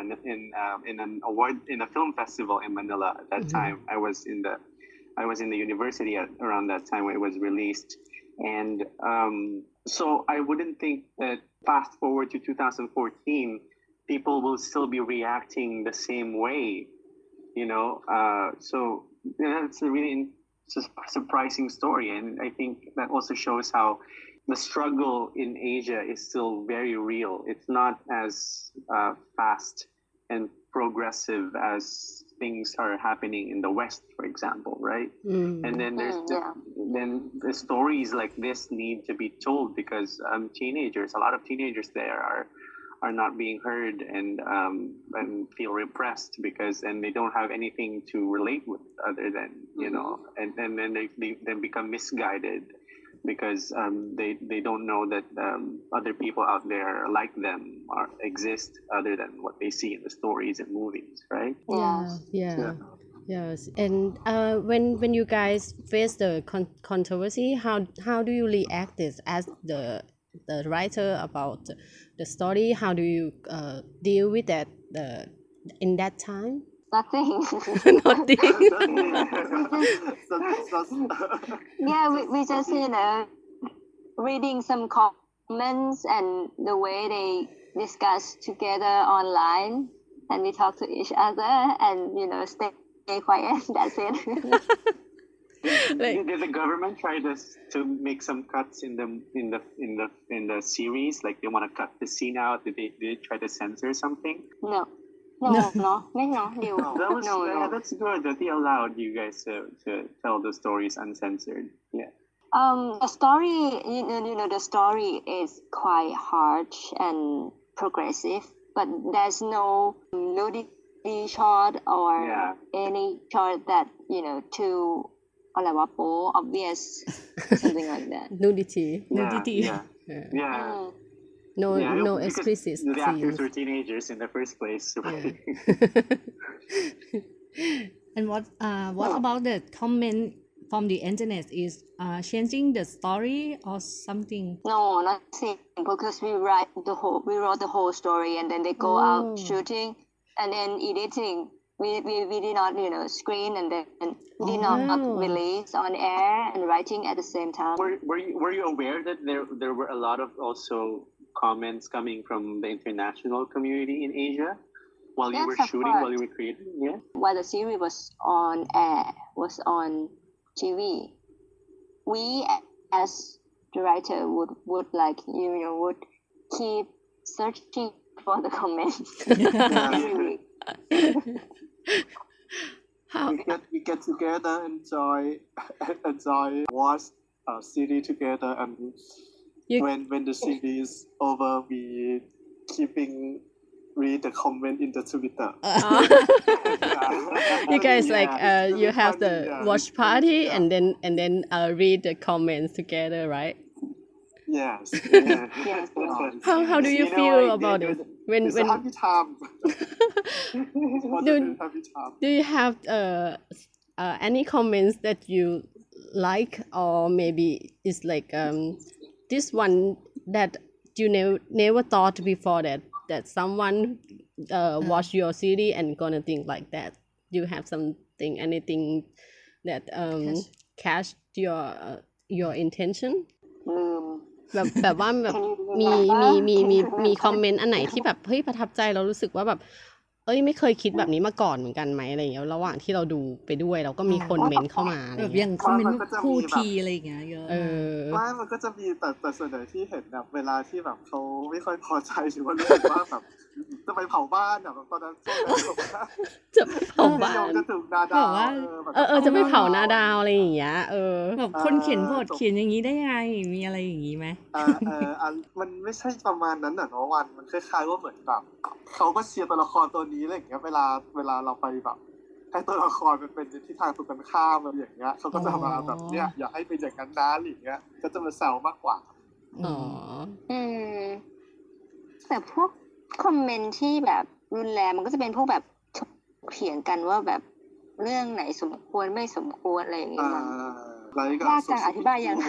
a film festival in Manila at that time. I was in the university around that time when it was released, And so I wouldn't think that fast forward to 2014, people will still be reacting the same way, so that's a really surprising story. And I think that also shows how the struggle in Asia is still very real. It's not as fast and progressive as things are happening in the West, for example, right? And then then the stories like this need to be told, because a lot of teenagers there are not being heard and feel repressed and they don't have anything to relate with other than and then they become misguided because they don't know that other people out there like them exist other than what they see in the stories and movies, right?
Yes. And when you guys face the controversy, how do you react this as the writer about the story? How do you deal with that in that time?
Nothing.
Nothing.
We just reading some comments and the way they discuss together online, and we talk to each other and stay quiet. That's it.
Did the government try to make some cuts in the series? Like they want to cut the scene out? Did they try to censor something?
No.
That's good that they allowed you guys to tell the stories uncensored. Yeah.
The story, the story is quite harsh and progressive, but there's no nudity shot or any shot that too obvious, something like that.
Nudity.
Yeah.
No explicit
the actors
scenes.
were teenagers in the first place.
And what about the comment from the internet? Is changing the story or something?
No, nothing, because we wrote the whole story and then they go out shooting and then editing. We did not screen and then we did not release on air and writing at the same time.
Were you aware that there were a lot of also comments coming from the international community in Asia while you were shooting, while you were creating? Yeah.
While the series was on air, was on TV, we as the writer would like would keep searching for the comments.
How
we get together, enjoy watch a series together, and when the series is over, we keeping read the comment in the Twitter.
You guys you have the watch party and then read the comments together, right?
Yes.
Yes.
How do you feel about it?
It's a happy time.
Do you have any comments that you like, or maybe it's like this one that you never thought before that someone watch your series and gonna think like that? Do you have anything that catch your intention? แบบว่าแบบมีคอมเมนต์อันไหนที่แบบเฮ้ยประทับใจเรารู้สึกว่าแบบไม่เคยคิดแบบนี้มาก่อนเหมือนกันไหมอะไรอย่างเงี้ยระหว่างที่เราดูไปด้วยเราก็มีคนเมนเข้ามาอะไร
แบบ
เงี้
อย ย่างคอมเมนต์คู่ทีอะไรอย่างเงี้ยเยอะ
ไม่มันก็จะมีแต่ส่วนใหญ่ที่เห็นแบบเวลาที่แบบเขาไม่ค่อยพอใจหรือว่ารู้สึกว่าแบบจะไปเผาบ้านแบบตอนนั้น
จะไปเผาบ้าน
จะถูกนาดาว
จะไปเผานาดาวอะไรอย่างเงี้ย
แบบคนเขียนบทเขียนอย่างนี้ได้ไงมีอะไรอย่างนี้ไหม
มันไม่ใช่ประมาณนั้นน่ะเนาะวันมันคล้ายๆว่าเหมือนแบบเขาก็เชียร์ตัวละครตัวนี้อะไรอย่างเงี้ยเวลาเราไปแบบให้ตัวละครมันเป็นที่ทางตรงกันข้ามอะไรอย่างเงี้ยเขาก็จะมาแบบเนี้ยอย่าให้เป็นอย่างนั้นนะอะไรอย่างเงี้ยก็จะมาแซวมากกว่า
แต่พวกคอมเมนต์ที่แบบรุนแรงมันก็จะเป็นพวกแบบเถียงกันว่าแบบเรื่องไหนสมควรไม่สมควรอะไรอย่างเงี้ยยากจะอธิบายยังไง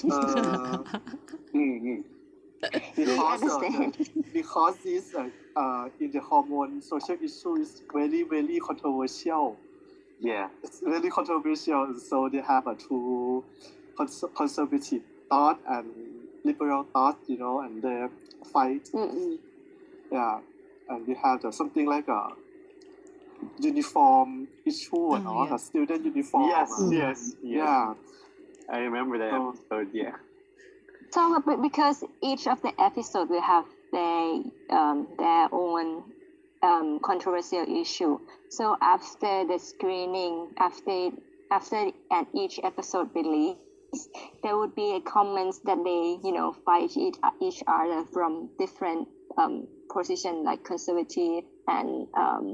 because this in the hormone social issue is very very controversial.
Yeah,
it's very controversial. So they have a two conservative thought and liberal thought, and they fight. Yeah, and we have something like a uniform issue and all,
yeah.
a student uniform.
Yes.
Yeah.
I remember that
So-
episode. Yeah.
So because each of the episode will have their own controversial issue. So after the screening, after and each episode release, there would be a comments that they fight each other from different position like conservative and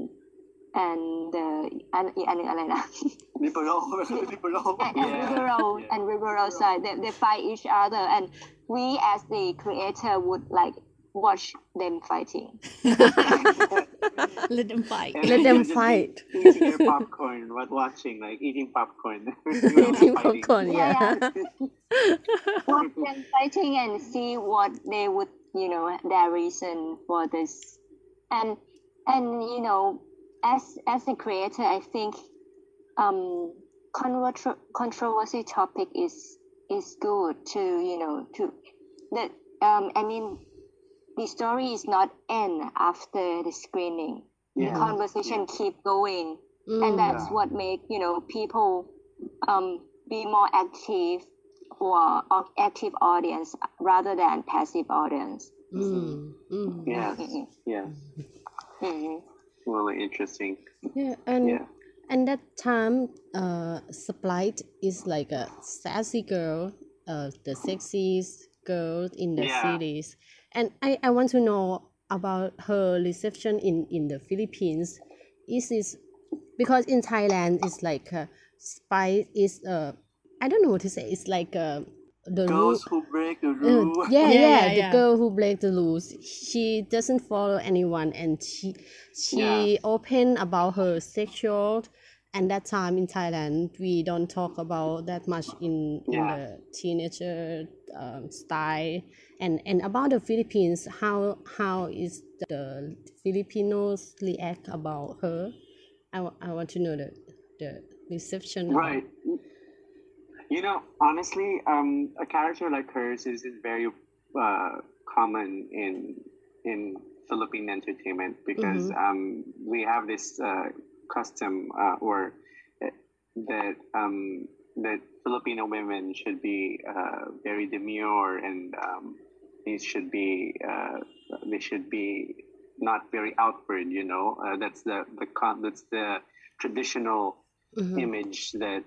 อะไรนะ
liberal.
and liberal side. They fight each other, and we as the creator would like watch them fighting.
Let them fight.
And
Let
then
them
you'll just be
fight.
Eating your popcorn, watching, like eating popcorn.
Eating popcorn, yeah.
Watch them fighting and see what they would, their reason for this, and as a creator, I think controversy topic is good to that. I mean, the story is not end after the screening. The conversation keep going, and that's what make people be more active or active audience rather than passive audience.
Yes. Really interesting.
Yeah,
Yeah.
and that time, Sprite is like a sassy girl, the sexiest girl in the
Yeah.
series, and I want to know about her reception in the Philippines. Is this because in Thailand it's like Sprite is I don't know what to say. It's like the
Girls who break the rule.
yeah, the
yeah.
girl who break the rules. She doesn't follow anyone, and she open about her sexual. And that time in Thailand, we don't talk about that much in the teenager style. And about the Philippines, how is the Filipinos react about her? I want to know the reception.
Right. Honestly, a character like hers isn't very common in Philippine entertainment because we have this custom or that Filipino women should be very demure and they should be not very outward. That's the traditional image that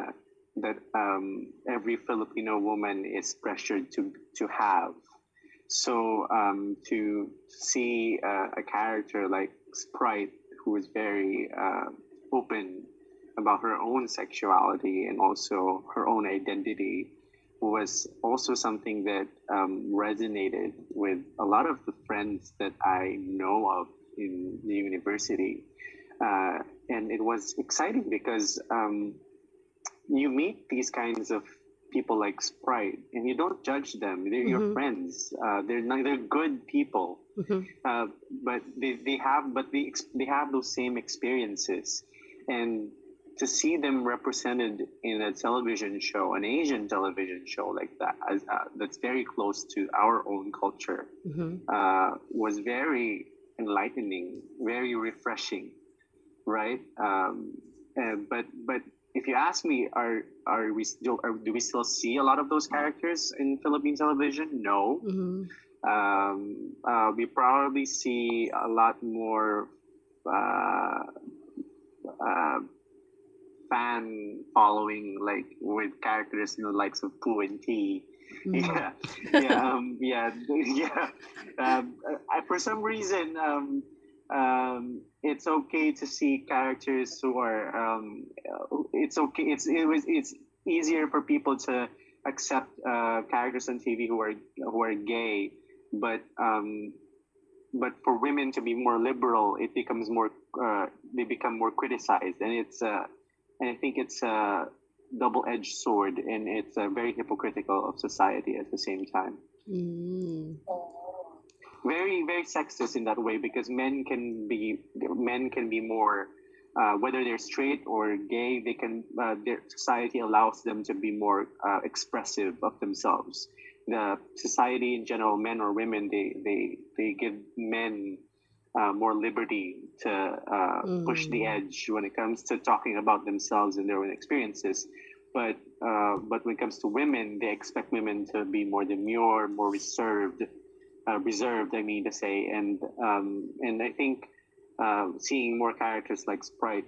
every Filipino woman is pressured to have. So to see a character like Sprite, who is very open about her own sexuality and also her own identity, was also something that resonated with a lot of the friends that I know of in the university. And it was exciting because you meet these kinds of people like Sprite, and you don't judge them. They're your friends. They're good people, but they have those same experiences, and to see them represented in a television show, an Asian television show like that, that's very close to our own culture, was very enlightening, very refreshing, right? But if you ask me, do we still see a lot of those characters in Philippine television? No. We probably see a lot more fan following, like with characters in the likes of Pooh and Tea. For some reason, it's okay to see characters who are. It's okay. It's easier for people to accept characters on TV who are gay, but for women to be more liberal, it becomes more. They become more criticized, and and I think it's a double-edged sword, and it's very hypocritical of society at the same time. Very, very sexist in that way, because men can be more whether they're straight or gay, they can their society allows them to be more expressive of themselves. The society in general, men or women, they give men more liberty to push the edge when it comes to talking about themselves and their own experiences. But when it comes to women, they expect women to be more demure, more reserved. I mean to say, and I think seeing more characters like Sprite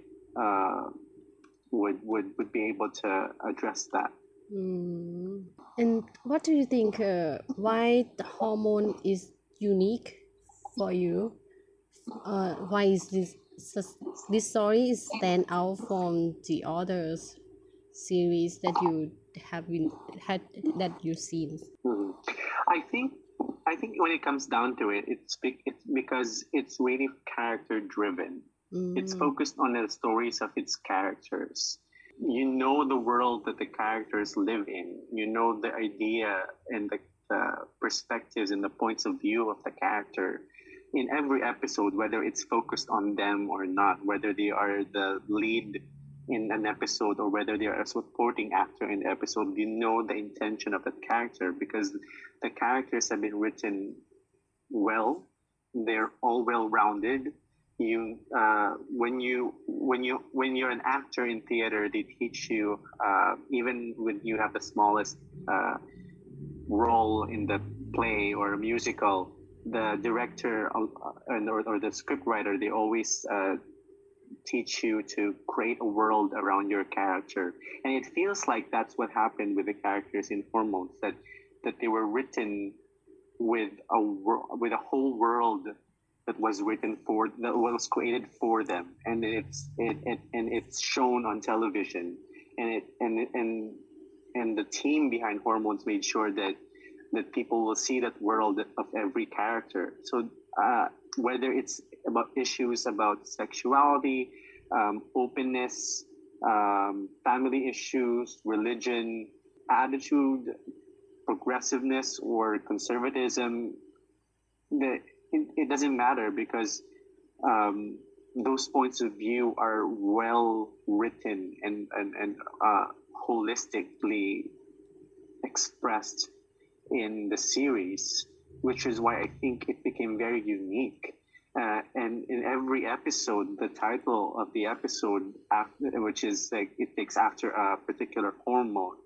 would be able to address that.
And what do you think? Why the hormone is unique for you? Why is this story is stand out from the others series that you have that you've seen?
I think when it comes down to it, it's because it's really character driven. It's focused on the stories of its characters. You know the world that the characters live in. You know the idea and the perspectives and the points of view of the character in every episode, whether it's focused on them or not, whether they are the lead in an episode or whether they are a supporting actor in the episode. You know the intention of that character because the characters have been written well. They're all well-rounded. When you're an actor in theater, they teach you even when you have the smallest role in the play or a musical, the director or the scriptwriter, they always teach you to create a world around your character, and it feels like that's what happened with the characters in Hormones, that they were written with a whole world that was created for them, and it's shown on television, and the team behind Hormones made sure that people will see that world of every character. So whether it's about issues about sexuality, openness, family issues, religion, attitude, progressiveness, or conservatism, it doesn't matter because those points of view are well written and holistically expressed in the series, which is why I think it became very unique. And in every episode, the title of the episode, which is like it takes after a particular hormone,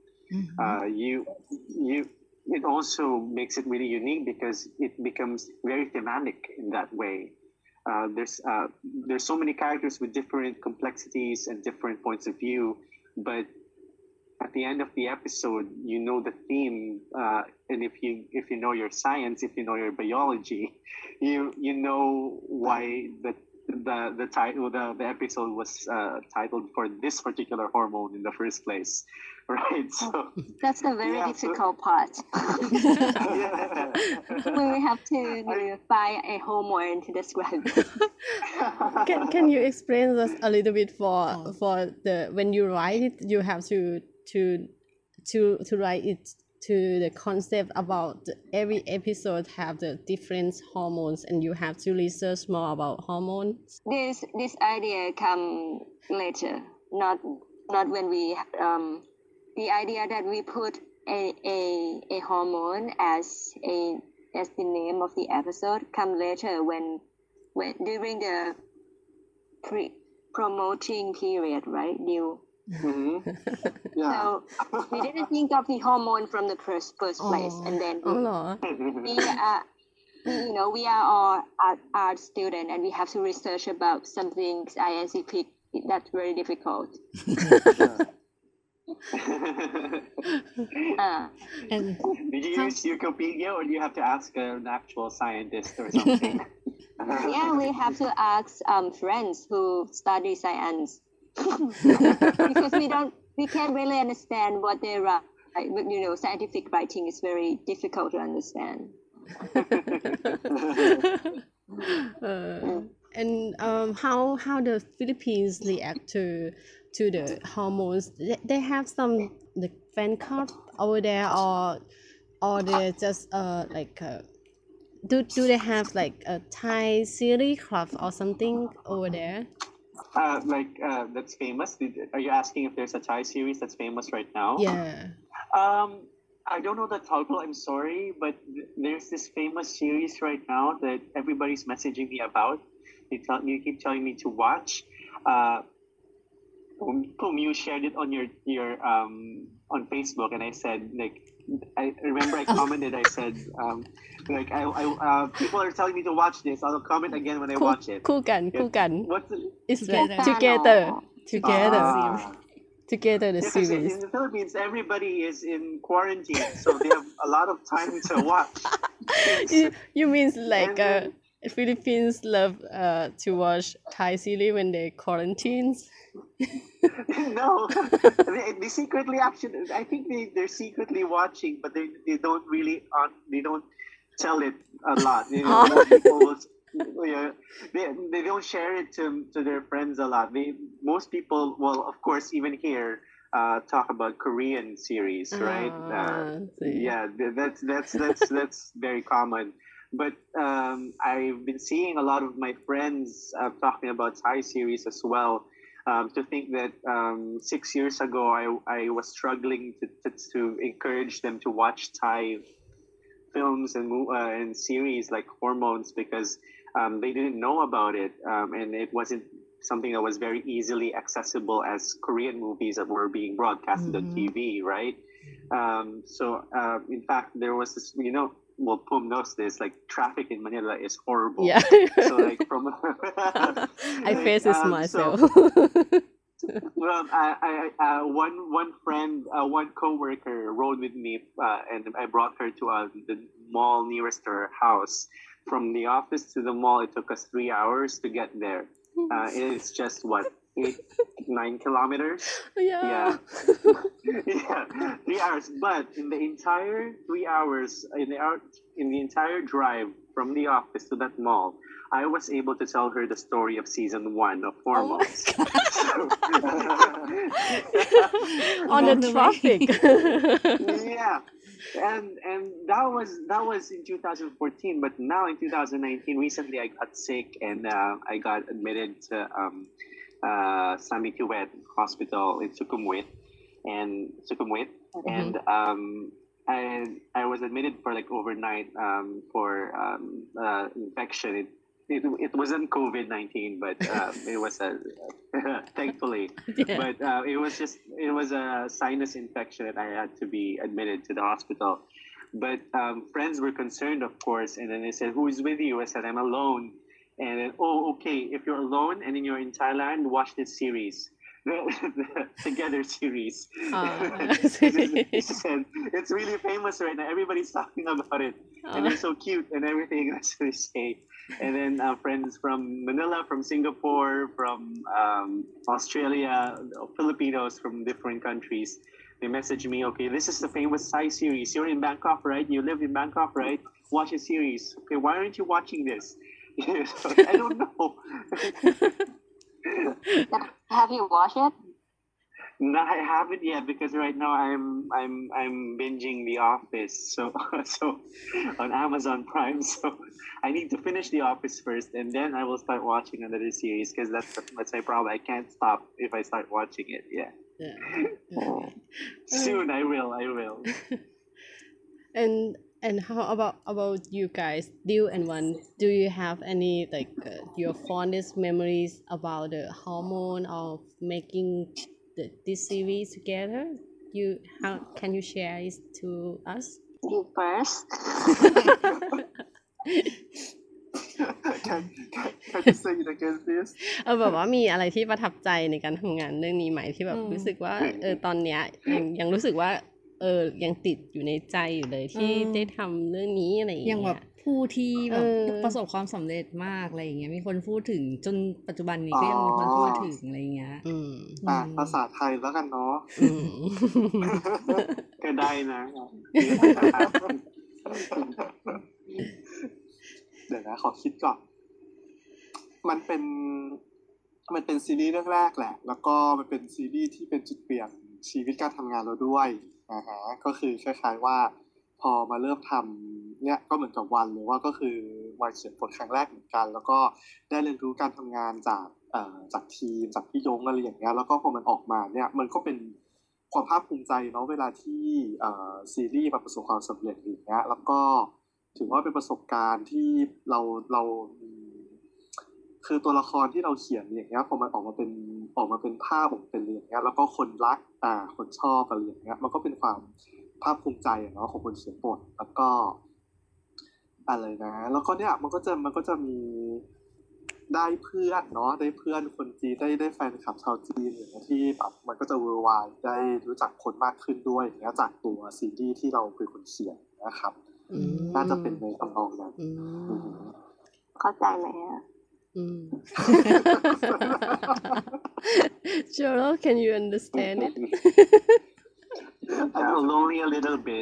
it also makes it really unique because it becomes very thematic in that way. There's so many characters with different complexities and different points of view, but at the end of the episode, you know the theme, and if you know your science, if you know your biology, you know why the title the episode was titled for this particular hormone in the first place, right? So
that's the very difficult part.
Yeah.
When we have to find a hormone to describe it.
Can you explain us a little bit for the when you write it, you have to write it to the concept about every episode have the different hormones and you have to research more about hormones.
This idea come later, not when we the idea that we put a hormone as the name of the episode come later when during the promoting period, right? New.
Yeah.
So we didn't think of the hormone from the first place, and then we are all art student, and we have to research about something scientific. That's very difficult.
And
did you use Wikipedia, or do you have to ask an actual scientist or something?
Yeah, we have to ask friends who study science. Because we can't really understand what they write. Scientific writing is very difficult to understand.
And how the Philippines react to the hormones? They have some the fan club over there, or they just do they have like a Thai series club or something over there?
That's famous. Are you asking if there's a Thai series that's famous right now?
Yeah.
I don't know the title. I'm sorry, but there's this famous series right now that everybody's messaging me about. You keep telling me to watch. You shared it on your on Facebook, and I said I remember I commented. I said people are telling me to watch this. I'll comment again when I watch it.
คู่กัน
What's the,
It's
Together.
together
Ah.
together the
Yeah, 'cause
series
in the Philippines, everybody is in quarantine, so they have a lot of time to watch.
you means like
And
Philippines love to watch Thai series when they quarantines
No, they secretly actually. I think they're secretly watching, but they don't really they don't tell it a lot. Most people will, yeah, they don't share it to their friends a lot. Most people, well, of course, even here, talk about Korean series, right?
see.
Yeah, that's very common. But I've been seeing a lot of my friends talking about Thai series as well. To think that 6 years ago I was struggling to encourage them to watch Thai films and series like Hormones because they didn't know about it and it wasn't something that was very easily accessible as Korean movies that were being broadcasted on TV, right? So in fact there was this, well, Pum knows this, like traffic in Manila is horrible.
Yeah.
So like from
I face this
so-
myself
Well, one friend, one coworker rode with me, and I brought her to the mall nearest to her house. From the office to the mall, it took us 3 hours to get there. It's just 8-9 kilometers.
yeah
Yeah, 3 hours. But in the entire 3 hours, in the entire drive from the office to that mall, I was able to tell her the story of season 1 of Hormones.
on the
Along the way.
traffic
Yeah, and that was in 2014. But now in 2019, recently I got sick and I got admitted to Samituet Hospital in Sukhumvit, and I was admitted for like overnight for infection. It wasn't COVID-19, but it was thankfully.
Yeah.
But it was a sinus infection and I had to be admitted to the hospital. But friends were concerned, of course, and then they said, "Who is with you?" I said, "I'm alone." And then, "Oh, okay. If you're alone and then you're in Thailand, watch this series, the Together series." She said, "It's really famous right now. Everybody's talking about it, and they're so cute and everything." That's what they say. And then friends from Manila, from Singapore, from Australia, Filipinos from different countries, they message me, "Okay, this is the famous Thai series. You're in Bangkok, right? You live in Bangkok, right? Watch the series. Okay, why aren't you watching this?" I don't know.
Have you watched it?
No, I haven't yet because right now I'm binging The Office, so on Amazon Prime. So I need to finish The Office first, and then I will start watching another series because that's my problem. I can't stop if I start watching it. Yeah, soon I will.
And how about you guys, Dill and One? Do you have any like your fondest memories about the hormone of making this series together? How can you share it to us?
You first.
Can you say it again, please?
แบบว่ามีอะไรที่ประทับใจในการทำงานเรื่องนี้ไหมที่แบบรู้สึกว่าตอนเนี้ยยังรู้สึกว่ายังติดอยู่ในใจอยู่เลยที่ได้ทำเรื่องนี้อะไรอย่าง
อย่าง
เงี้
แบ
ย
บผู้ที่แบบ
เออ
ประสบความสำเร็จมากอะไรอย่างเงี้ยมีคนพูดถึงจนปัจจุบันนี้ก็ยังมีคนพูดถึงอะไรอย่างเงี้ย
อืม
ภาษาไทยแล้วกันเนาะ
อืม
ก็ได้นะ
เดี๋ยวนะขอคิดก่อน มันเป็นซีรีส์เรื่องแรกแหละ แล้วก็มันเป็นซีรีส์ที่เป็นจุดเปลี่ยนชีวิตการทำงานเราด้วยก็คือคล้ายๆว่าพอมาเริ่มทำเนี่ยก็เหมือนกับวันเลยว่าก็คือวันเขียนบทครั้งแรกเหมือนกัน แล้วก็ได้เรียนรู้การทำงานจากจากทีมจากพี่ยงอะไรอย่างเงี้ยแล้วก็พอมันออกมาเนี่ยมันก็เป็นความภาคภูมิใจเนาะเวลาที่ซีรีส์มันประสบความสำเร็จอย่างเงี้ยแล้วก็ถือว่าเป็นประสบการณ์ที่เราคือตัวละครที่เราเขียนอย่างเงี้ยพอมันออกมาเป็นภาพออกเป็นอย่างเงี้ยแล้วก็คนรักคนชอบอะไรอย่างเงี้ยมันก็เป็นความภาคภูมิใจเนาะของคนเขียนบทแล้วก็อะไรนะแล้วก็เนี่ยมันก็จะมีได้เพื่อนเนาะได้เพื่อนคนจีนได้แฟนคลับชาวจีนอย่างเงี้ยที่แบบมันก็จะเวอร์ไวด์ได้รู้จักคนมากขึ้นด้วยอย่างเงี้ยจากตัวซีรีส์ที่เราเป็นคนเขียนนะครับน่าจะเป็นในทำนองนั้น
เข้าใจไหมอ่ะ
Cheryl, can you understand it?
Only a little bit.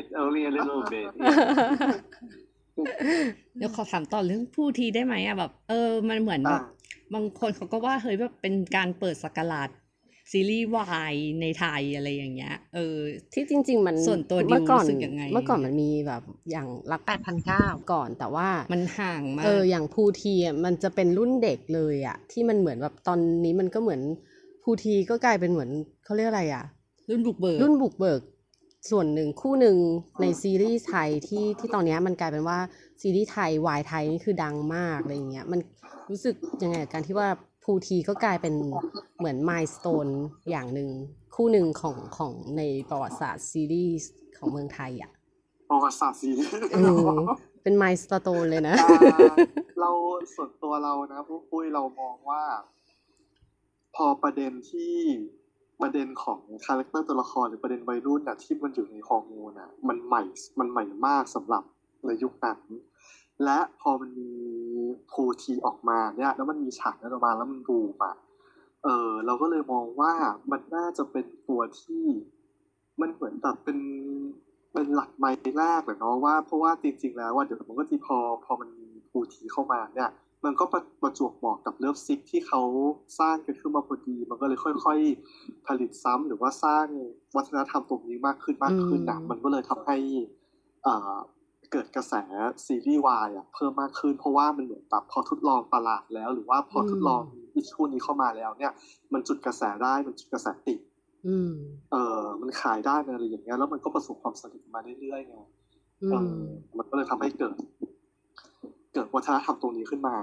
เดี๋ยวขอถามต่อเรื่องผู้ทีได้ไหมอ่ะแบบมันเหมือนแบบบางคนเขาก็ว่าเฮ้ยแบบเป็นการเปิดศักราชซีรีส์วายในไทยอะไรอย่างเงี้ย
ที่จริงๆมัน
ส่วนตัวดิวรู้สึกยังไง
เมื่อก่อนมันมีแบบอย่างรัก 8,900 ก่อนแต่ว่า
มันห่างมาก
อย่างภูทีอ่ะมันจะเป็นรุ่นเด็กเลยอ่ะที่มันเหมือนแบบตอนนี้มันก็เหมือนภูทีก็กลายเป็นเหมือนเขาเรียกอะไรอ่ะ
รุ่นบุกเ
บิกส่วนหนึ่งคู่หนึ่งในซีรีส์ไทยที่ตอนนี้มันกลายเป็นว่าซีรีส์ไทยวายไทยนี่คือดังมากอะไรอย่างเงี้ยมันรู้สึกยังไงกับการที่ว่าภูทีก็กลายเป็นเหมือนมายสโตนอย่างหนึ่งคู่หนึ่งของในประวัติศาสตร์ซีรีส์ของเมืองไทยอ่ะ
ประวัติศาสตร์ซีรีส์
เป็นมายสโตนเลยนะ
เราส่วนตัวเรานะปุ้ยเรามองว่าพอประเด็นของคาแรคเตอร์ตัวละครหรือประเด็นวัยรุ่นน่ะที่มันอยู่ในฮอร์โมนน่ะมันใหม่มากสำหรับในยุคนั้นและพอมันมีภูทีออกมาเนี่ยแล้วมันมีฉากนั้นออกมาแล้วมันบูมเราก็เลยมองว่ามันน่าจะเป็นตัวที่มันเหมือนแบบเป็นหลักไมล์แรกเลยเนาะว่าเพราะว่าจริงๆแล้วว่าเดี๋ยวมันก็จะพอมันมีภูทีเข้ามาเนี่ยมันก็ประจวบเหมาะกับเลิฟซิกที่เขาสร้างกันขึ้นมาพอดีมันก็เลยค่อยๆผลิตซ้ำหรือว่าสร้างวัฒนธรรมตรงนี้มากขึ้นนะมันก็เลยทำให้เกิดกระแสซีรีส์วายเพิ่มมากขึ้นเพราะว่ามันเหมือนแบบพอทดลองตลาดแล้วหรือว่าพอทดลองอิชชูนี้เข้ามาแล้วเนี่ยมันจุดกระแสได้มันจุดกระแสติดมันขายได้อะไรอย่างเงี้ยแล้วมันก็ประสบความสำเร็จมาเรื่อยๆไงมันก็เลยทำให้เกิดวัฒนธรรมตรงนี้ขึ้นมา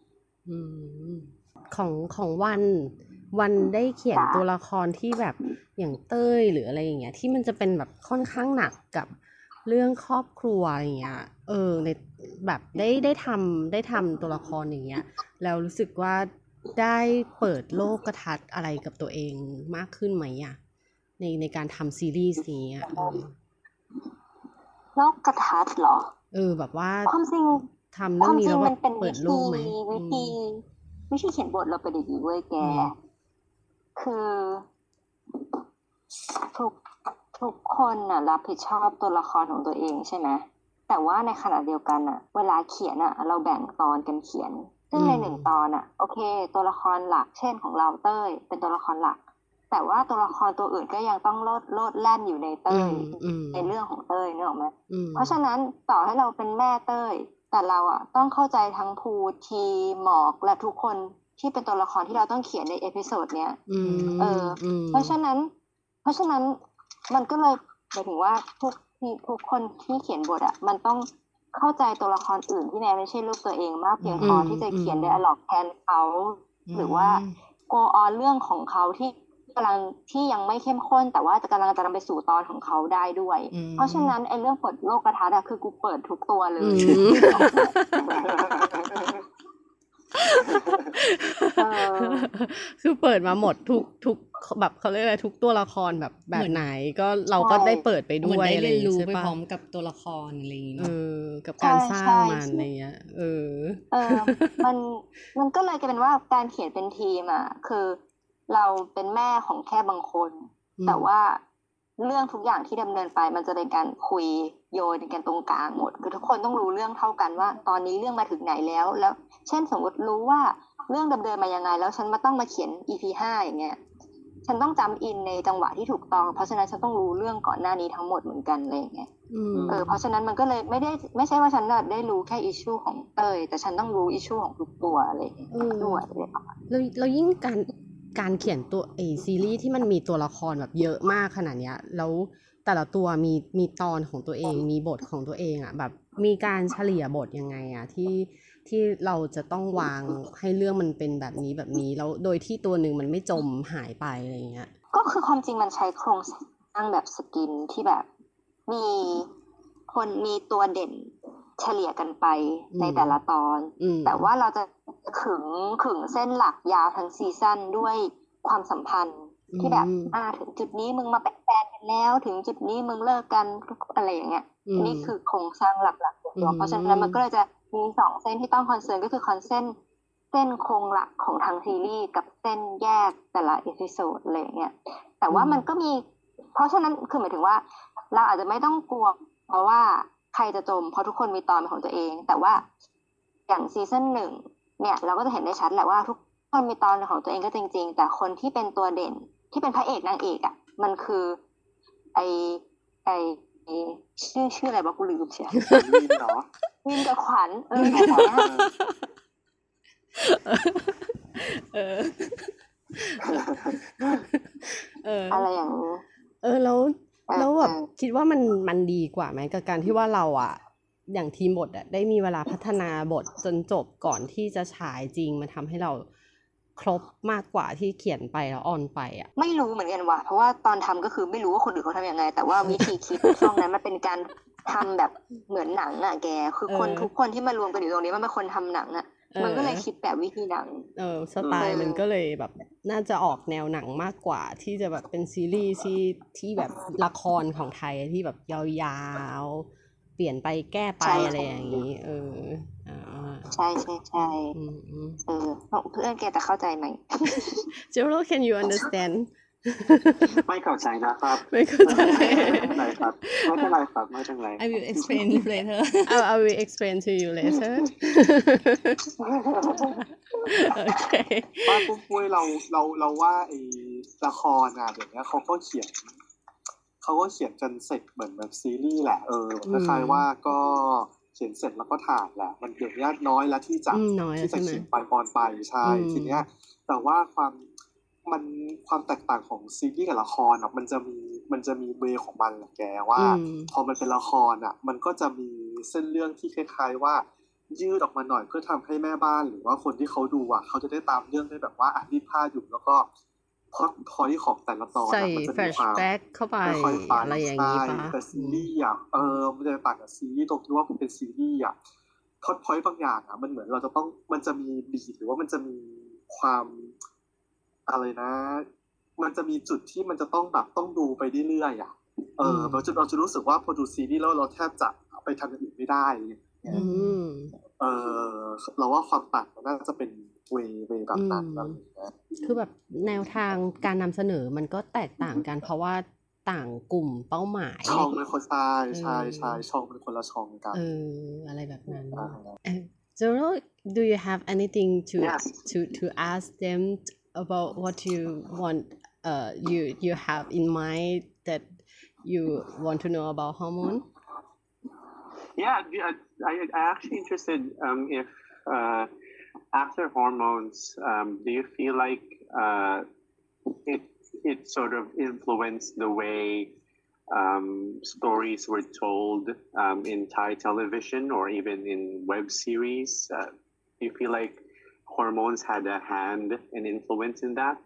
ของวันได้เขียนตัวละครที่แบบอย่างเต้ยหรืออะไรอย่างเงี้ยที่มันจะเป็นแบบค่อนข้างหนักกับเรื่องครอบครัวอย่างเงี้ยในแบบได้ทำตัวละครอย่างเงี้ยแล้วรู้สึกว่าได้เปิดโลกทัศน์อะไรกับตัวเองมากขึ้นไหมอ่ะในการทำซีรีส์นี้
โลกทัศน์เหรอ
แบบว่า
ความจริง
ทำเรื่องนี้แล้วแบบเปิดโลกไหม
วิธีเขียนบทเราเป็นอย่างนี้เว้ยแกคือทุกคนน่ะรับผิดชอบตัวละครของตัวเองใช่ไหมแต่ว่าในขณะเดียวกันน่ะเวลาเขียนน่ะเราแบ่งตอนกันเขียนซึ่งใน1ตอนน่ะโอเคตัวละครหลักเช่นของเราเต้ยเป็นตัวละครหลักแต่ว่าตัวละครตัวอื่นก็ยังต้องโลดแล่นอยู่ในเต้ยในเรื่องของเต้ยนึกออกไหมเพราะฉะนั้นต่อให้เราเป็นแม่เต้ยแต่เราต้องเข้าใจทั้งภูทีหมอกและทุกคนที่เป็นตัวละครที่เราต้องเขียนในเอพิโซดเนี้ยเพราะฉะนั้นมันก็เลยหมายถึงว่าทุกคนที่เขียนบทมันต้องเข้าใจตัวละครอื่นที่แม้ไม่ใช่ลูกตัวเองมากเพียงพอที่จะเขียนไดอะล็อกแทนเขาหรือว่าโกออนเรื่องของเขาที่ยังไม่เข้มข้นแต่ว่าจะกำลังจะนำไปสู่ตอนของเขาได้ด้วยเพราะฉะนั้นไอ้เรื่องเปิดโลกทัศน์คือกูเปิดทุกตัวเลย
คือเปิดมาหมดทุกแบบเขาเรียกอะไรทุกตัวละครแบบไหนก็เราก็ได้เปิดไปด้วย
อะไรอย่างเงี้ยใช่ปะไปพร้อมกับตัวละครอะไรอย่างเงี้ย
กับการสร้างมันอะไรเงี้ย
มันก็เลยกลายเป็นว่าการเขียนเป็นทีมคือเราเป็นแม่ของแค่บางคนแต่ว่าเรื่องทุกอย่างที่ดำเนินไปมันจะเป็นการคุยโยนกันตรงกลางหมดคือทุกคนต้องรู้เรื่องเท่ากันว่าตอนนี้เรื่องมาถึงไหนแล้วเช่นสมมติรู้ว่าเรื่องดำเนินมายังไงแล้วฉันต้องมาเขียน EP 5อย่างเงี้ยฉันต้องจำอินในจังหวะที่ถูกต้องเพราะฉะนั้นฉันต้องรู้เรื่องก่อนหน้านี้ทั้งหมดเหมือนกันอะไรอย่างเงี้ยเพราะฉะนั้นมันก็เลยไม่ใช่ว่าฉันได้รู้แค่อิชชูของเต้ยแต่ฉันต้องรู้อิชชูของทุกตัวอะไรอย่างเงี้ยด้วยอะไรประมาณ
แล้วยิ่งการเขียนตัวซีรีส์ที่มันมีตัวละครแบบเยอะมากขนาดเนี้ยแล้วแต่ละตัวมีตอนของตัวเองมีบทของตัวเองอ่ะแบบมีการเฉลี่ยบทยังไงอ่ะที่เราจะต้องวางให้เรื่องมันเป็นแบบนี้แล้วโดยที่ตัวหนึ่งมันไม่จมหายไปอะไรอย่างเงี้ย
ก็คือความจริงมันใช้โครงสร้างแบบสกินที่แบบมีตัวเด่นเฉลี่ยกันไปในแต่ละตอน แต่ว่าเราจะขึงเส้นหลักยาวทั้งซีซั่นด้วยความสัมพันธ์ที่แบบถึงจุดนี้มึงมาเป็นแฟนกันแล้วถึงจุดนี้มึงเลิกกันอะไรอย่างเงี้ยนี่คือโครงสร้างหลักๆของตัวเพราะฉะนั้นมันก็เลยจะมี2เส้นที่ต้องคอนเซิร์นก็คือเส้นโครงหลักของทางซีรีส์กับเส้นแยกแต่ละเอพิโซดอะไรอย่างเงี้ยแต่ว่ามันก็มีเพราะฉะนั้นคือหมายถึงว่าเราอาจจะไม่ต้องกลัวเพราะว่าใครจะจมเพราะทุกคนมีตอนเป็นของตัวเองแต่ว่าอย่างซีซั่น1เนี่ยเราก็จะเห็นได้ชัดแหละว่าทุกคนมีตอนเป็นของตัวเองก็จริงๆแต่คนที่เป็นตัวเด่นที่เป็นพระเอกนางเอกอ่ะมันคือไอชื่ออะไรบ้างกูลืมเชียว
วินเนาะ
วินกับขวัญแบบนี้อะไรอย่างนี้
แล้วแบบคิดว่ามันดีกว่าไหมกับการที่ว่าเราอ่ะอย่างทีมบทอ่ะได้มีเวลาพัฒนาบทจนจบก่อนที่จะฉายจริงมันทำให้เราครบมากกว่าที่เขียนไปแล้วออนไปอ่ะ
ไม่รู้เหมือนกันว่ะเพราะว่าตอนทำก็คือไม่รู้ว่าคนอื่นเขาทำยังไงแต่ว่าวิธีคิดช่วงนั้นมันเป็นการทำแบบเหมือนหนังอ่ะแกคือคนทุกคนที่มารวมกันอยู่ตรงนี้มันเป็นคนทำหนังอ่ะมันก็เลยคิดแบบวิธีหนัง
สไตล์มันก็เลยแบบน่าจะออกแนวหนังมากกว่าที่จะแบบเป็นซีรีส์ที่แบบละครของไทยที่แบบยาวๆเปลี่ยนไปแก้ไปอะไรอย่างนี้
ใช่เพื่อนแกจะเข้าใจไหม
Gerald can you understand
ไม่เข้าใจนะครับ
ไม่เข้าใจ
ไม่เป็นไรครับไม่เป็นไรครับไม่เป็นไร
I will explain you later
I will explain to you later โอเค
ว่าปุ้ยเราว่าไอ้ละครอ่ะเดี๋ยวนี้เขาก็เขียนกันเสร็จเหมือนแบบซีรีส์แหละคล้ายๆว่าก็เขียนเสร็จแล้วก็ถ่ายแหละมันเดี๋ยวนี้น้อยแล้วที่จะเขียนไปออนไปใช่ทีเนี้ยแต่ว่าความแตกต่างของซีรีส์กับละครอ่ะมันจะมีเวของมันแหละแกว่าพอมันเป็นละครอ่ะมันก็จะมีเส้นเรื่องที่คล้ายๆว่ายืดออกมาหน่อยเพื่อทำให้แม่บ้านหรือว่าคนที่เขาดูอ่ะเขาจะได้ตามเรื่องได้แบบว่ารีดผ้าอยู่แล้วก็พอที่ของแต่ละตอน
มันจะมีความเข้าไปอะไรอย่างนี้ป่ะ
แต่ซีรีส์อ่ะมันจะต่างกับซีรีส์ตรงที่ว่ามันเป็นซีรีส์อ่ะพอยต์บางอย่างอ่ะมันเหมือนเราจะต้องมันจะมีบีทหรือว่ามันจะมีความอะไรนะมันจะมีจุดที่มันจะต้องแบบต้องดูไปเรื่อยๆอ่ะเราจะรู้สึกว่าพอดูซีรีส์แล้วเราแทบจะไปทำอย่างอื่นไม่ได้เราว่าความต่างมันน่าจะเป็นเวแบบนั้น
คือแบบแนวทางการนำเสนอมันก็แตกต่างกันเพราะว่าต่างกลุ่มเป้าหมาย
ช่องเป็นคนใช่ช่องเป็นคนละช่องกัน
อะไรแบบนั้น Gerald, do you have anything to ask them about what you want you have in mind that you want to know about hormone?
Yeah, I actually interested if after hormones, do you feel like it sort of influenced the way stories were told in Thai television or even in web series? Do you feel like hormones had a hand and influence in that?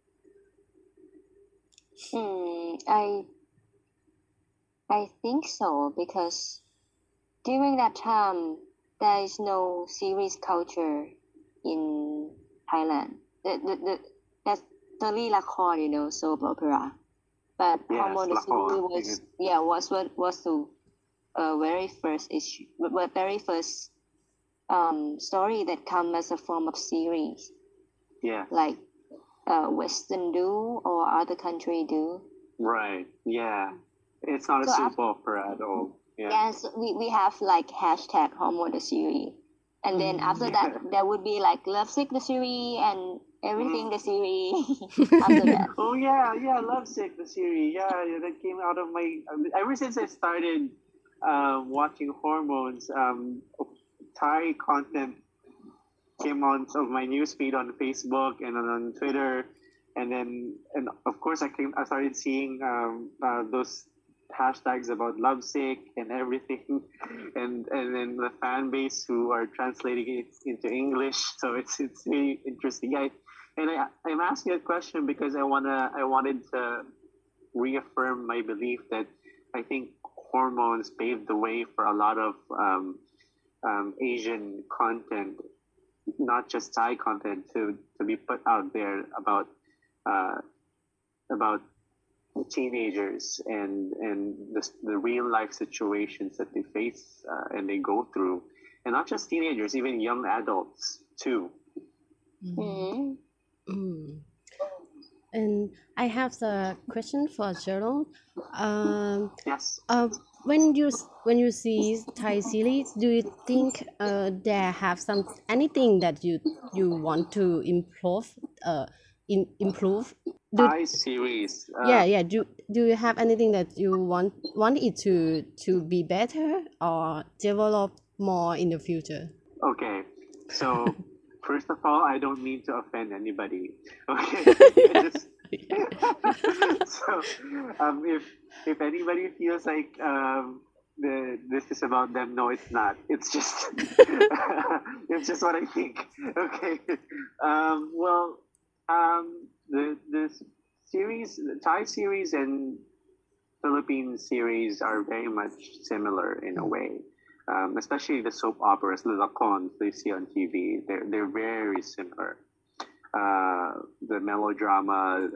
I think so because during that time there is no series culture in Thailand. That's only lakon, soap opera. But Hormone the series was the very first issue, very first story that come as a form of series.
Yeah.
Like Western do or other country do.
Right. Yeah. It's not a soap opera at all. Yeah.
Yes, we have like hashtag Hormone the series. And then after that, there would be like Lovesick the series and everything the series after that.
Oh yeah, Lovesick the series. Yeah, that came out of my. Ever since I started watching Hormones, Thai content came on of my newsfeed on Facebook and on Twitter, and of course I started seeing those hashtags about lovesick and everything, and then the fan base who are translating it into English. So it's really interesting. I'm asking a question because I wanted to reaffirm my belief that I think hormones paved the way for a lot of Asian content, not just Thai content, to be put out there about teenagers and the real life situations that they face and they go through, and not just teenagers, even young adults too.
Mm.
Mm. And I have the question for Gerald.
Yes.
When you see Thai series, do you think there have anything that you want to improve? Improve?
Thai series.
Yeah. Do you have anything that you want it to be better or develop more in the future?
Okay. So first of all, I don't mean to offend anybody. Okay. So if anybody feels like this is about them, no, it's not. It's just it's just what I think. Okay. Well, the series, the Thai series and Philippine series are very much similar in a way. Especially the soap operas, the lakons they see on TV, they're very similar. The melodrama,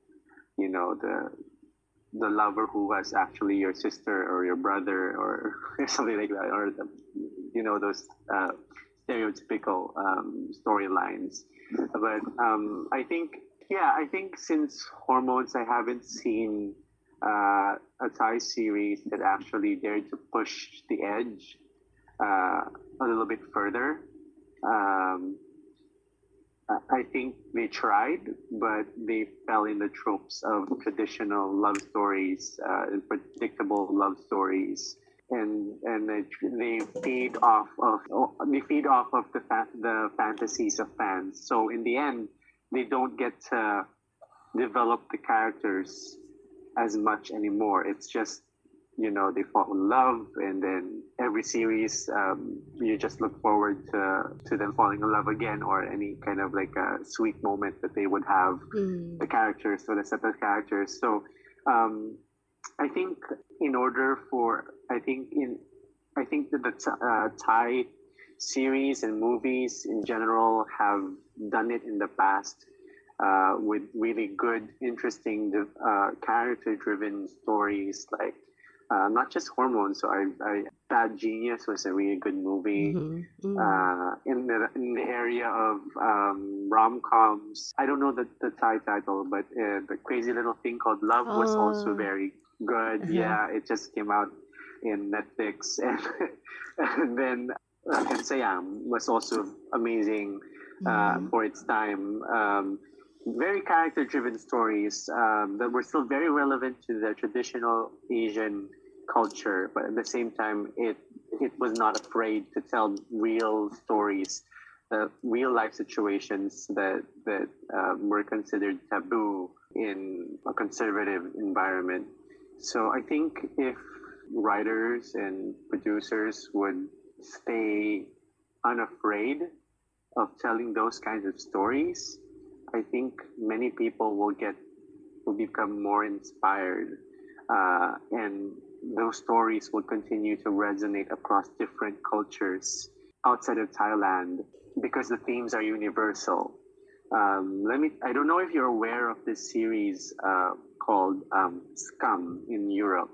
the lover who was actually your sister or your brother or something like that, or those stereotypical storylines. But I think since Hormones, I haven't seen a Thai series that actually dared to push the edge a little bit further. I think they tried, but they fell in the tropes of traditional love stories and predictable love stories, and they feed off of the fantasies of fans. So in the end, they don't get to develop the characters as much anymore. It's just, they fall in love, and then every series you just look forward to them falling in love again, or any kind of like a sweet moment that they would have, the characters or the set of characters. So I think that the Thai series and movies in general have done it in the past with really good, interesting, character-driven stories, like not just Hormones. So Bad Genius was a really good movie. In the area of rom-coms, I don't know the Thai title, but the Crazy Little Thing Called Love was also very good. Yeah, it just came out in Netflix, and then Sayam was also amazing for its time. Very character-driven stories that were still very relevant to the traditional Asian culture, but at the same time, it was not afraid to tell real stories, real life situations that were considered taboo in a conservative environment. So I think if writers and producers would stay unafraid of telling those kinds of stories, I think many people will become more inspired, and those stories will continue to resonate across different cultures outside of Thailand because the themes are universal. I don't know if you're aware of this series called Scum in Europe.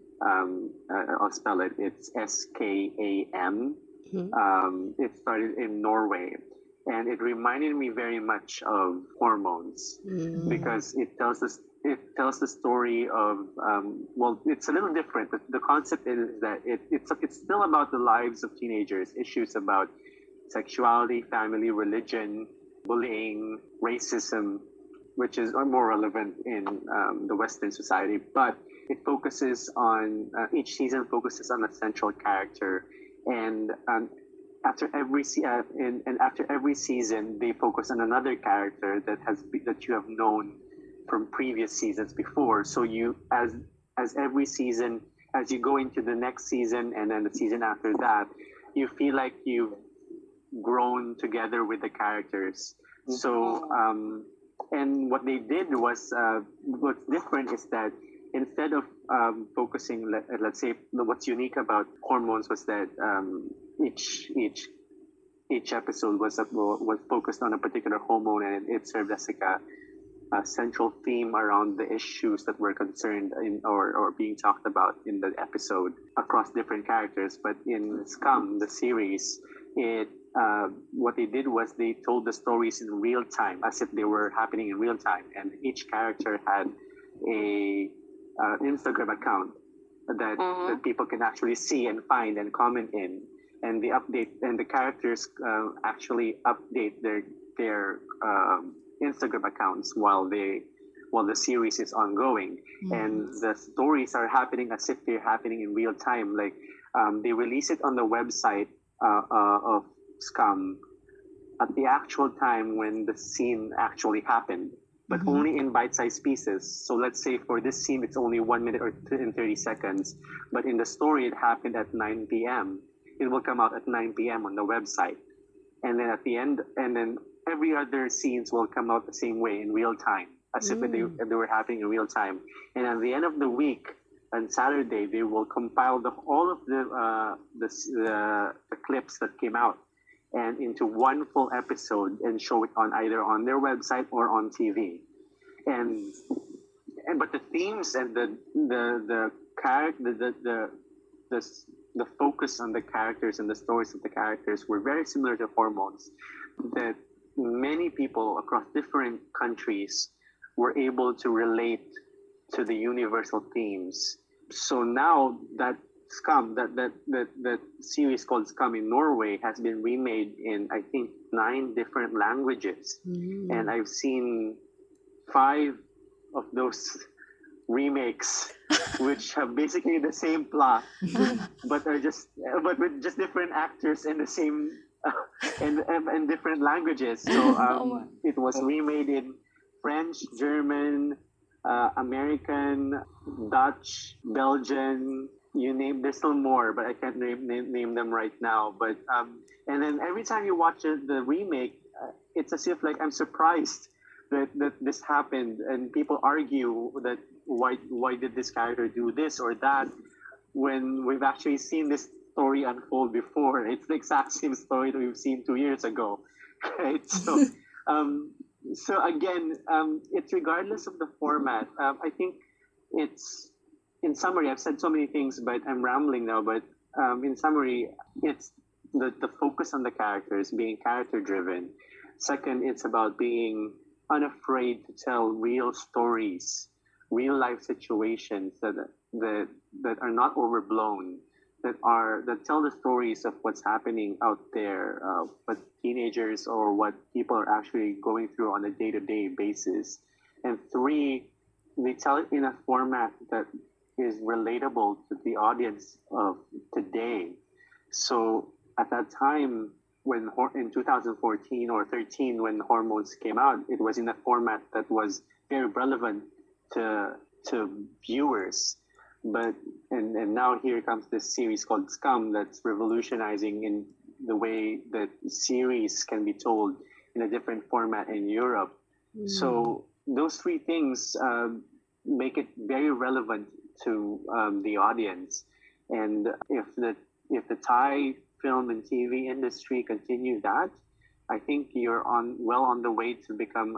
I'll spell it. It's SKAM. It started in Norway. And it reminded me very much of Hormones because it tells the story of it's a little different. The concept is that it's still about the lives of teenagers, issues about sexuality, family, religion, bullying, racism, which is more relevant in the Western society. But it focuses on each season focuses on a central character, and after every season, they focus on another character that you have known from previous seasons before. So you, as every season, as you go into the next season and then the season after that, you feel like you've grown together with the characters. So, and what they did was, what's different is that instead of focusing, let's say, what's unique about Hormones was that each episode was focused on a particular hormone, and it served as like a central theme around the issues that were concerned in or being talked about in the episode across different characters. But in Scum, the series, what they did was they told the stories in real time, as if they were happening in real time, and each character had a Instagram account that people can actually see and find and comment in, and the characters actually update their Instagram accounts while the series is ongoing, and the stories are happening as if they're happening in real time. Like they release it on the website of Scum at the actual time when the scene actually happened, but only in bite-sized pieces. So let's say for this scene, it's only 1 minute or 30 seconds, but in the story, it happened at 9 p.m. It will come out at 9 p.m. on the website, and then at the end, and then every other scenes will come out the same way in real time, as if they were happening in real time. And at the end of the week, on Saturday, they will compile all of the clips that came out and into one full episode and show it on either on their website or on TV. But the themes and the focus on the characters and the stories of the characters were very similar to Hormones, that many people across different countries were able to relate to the universal themes. So now that Scum, that series called Scum in Norway, has been remade in, I think, 9 different languages, and I've seen 5 of those remakes, which have basically the same plot, but with just different actors and the same and different languages. So it was remade in French, German, American, Dutch, Belgian, you name. There's still more, but I can't name them right now. But and then every time you watch the remake, it's as if like I'm surprised that this happened, and people argue that why did this character do this or that, when we've actually seen this story unfold before. It's the exact same story that we've seen 2 years ago, right? So so again, it's regardless of the format. I think it's, in summary, I've said so many things, but I'm rambling now. But in summary, it's the focus on the characters, being character driven. Second, it's about being unafraid to tell real stories, real life situations that are not overblown, that tell the stories of what's happening out there, what teenagers or what people are actually going through on a day-to-day basis. And 3, they tell it in a format that is relatable to the audience of today. So at that time, when in 2014 or 13, when Hormones came out, it was in a format that was very relevant to viewers. But and now here comes this series called Scum that's revolutionizing in the way that series can be told in a different format in Europe. So those 3 things make it very relevant to the audience. And if the Thai film and TV industry continue that, I think you're well on the way to become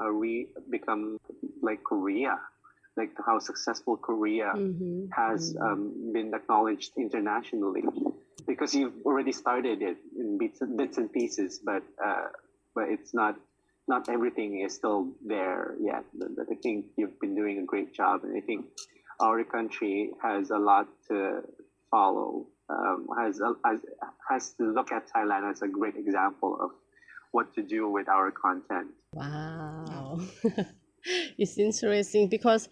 like Korea, like how successful Korea has been acknowledged internationally, because you've already started it in bits and pieces, but it's not everything is still there yet. But I think you've been doing a great job, and I think our country has a lot to follow. Has to look at Thailand as a great example of what to do with our content.
Wow. It's interesting because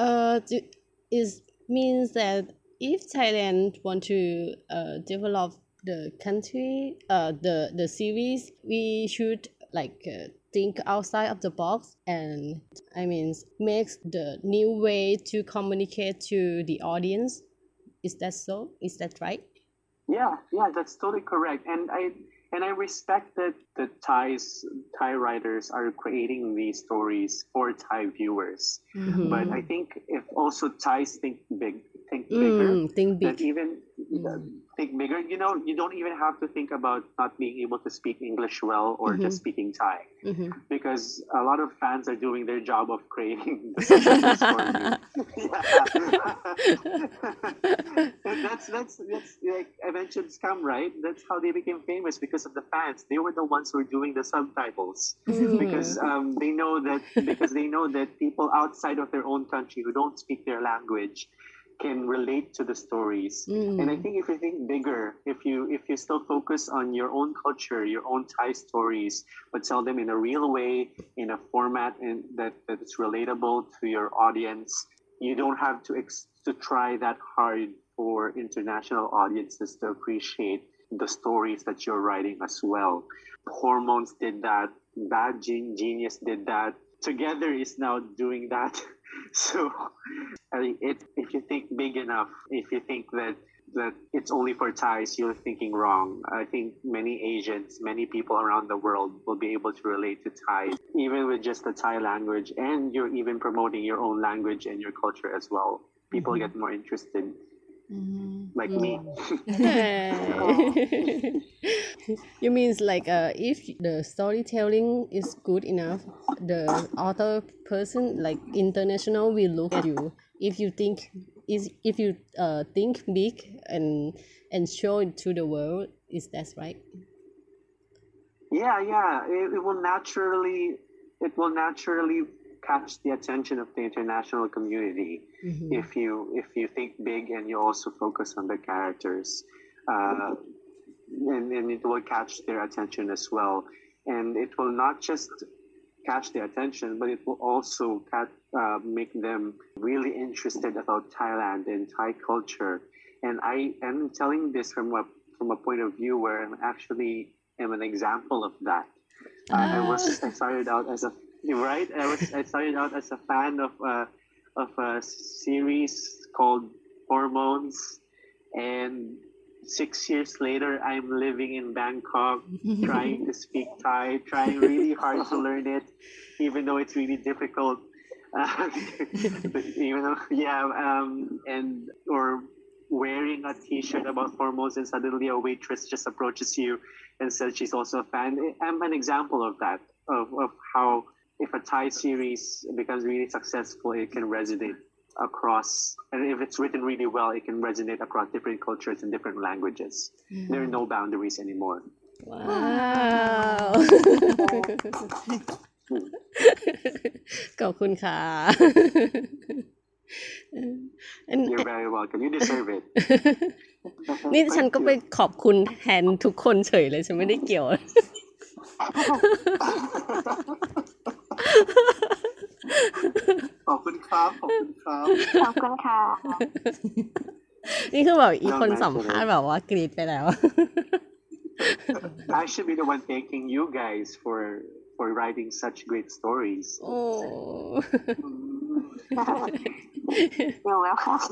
it means that if Thailand want to develop the country, the series, we should like think outside of the box and I mean makes the new way to communicate to the audience. Is that so? Is that right?
Yeah, that's totally correct. And I respect that the Thai writers are creating these stories for Thai viewers. But I think if also Thais think bigger,
Think
that
big.
even think bigger, you know, you don't even have to think about not being able to speak English well or just speaking Thai. Because a lot of fans are doing their job of creating the subtitles for you. And that's like eventually come, right? That's how they became famous, because of the fans. They were the ones who were doing the subtitles because they know that people outside of their own country who don't speak their language can relate to the stories. And I think if you think bigger, if you still focus on your own culture, your own Thai stories, but tell them in a real way, in a format that's relatable to your audience, you don't have to try that hard for international audiences to appreciate the stories that you're writing as well. Hormones did that. Bad Genius did that. Together is now doing that. So if you think big enough, if you think that it's only for Thais, you're thinking wrong. I think many Asians, many people around the world will be able to relate to Thai, even with just the Thai language, and you're even promoting your own language and your culture as well. People get more interested, like me.
You means like if the storytelling is good enough, the author person like international will look at you. If you think think big and show it to the world, is that right?
Yeah. It will naturally catch the attention of the international community if you think big and you also focus on the characters, and it will catch their attention as well. And it will not just catch their attention, but it will also make them really interested about Thailand and Thai culture. And I am telling this from a point of view where I'm actually an example of that. I started out as a fan of a series called Hormones, and 6 years later, I'm living in Bangkok, trying to speak Thai, trying really hard to learn it, even though it's really difficult. Or wearing a T-shirt about hormones, and suddenly a waitress just approaches you and says she's also a fan. I'm an example of that, of how if a Thai series becomes really successful, it can resonate across, and if it's written really well, it can resonate across different cultures and different languages. There are no boundaries anymore.
Wow. ขอบคุณค่ะ
You're very welcome. You deserve it.
นี่ฉันก็ไปขอบคุณแทนทุกคนเฉยเลยฉันไม่ได้เกี่ยว
ขอบคุณครับ
ขอบคุณค่ะ
นี่คือแบบอีคนสัมภาษณ์แบบว่ากรี๊ดไปแล้ว
I should be the one thanking you guys for writing such great stories.
Oh.
You're welcome.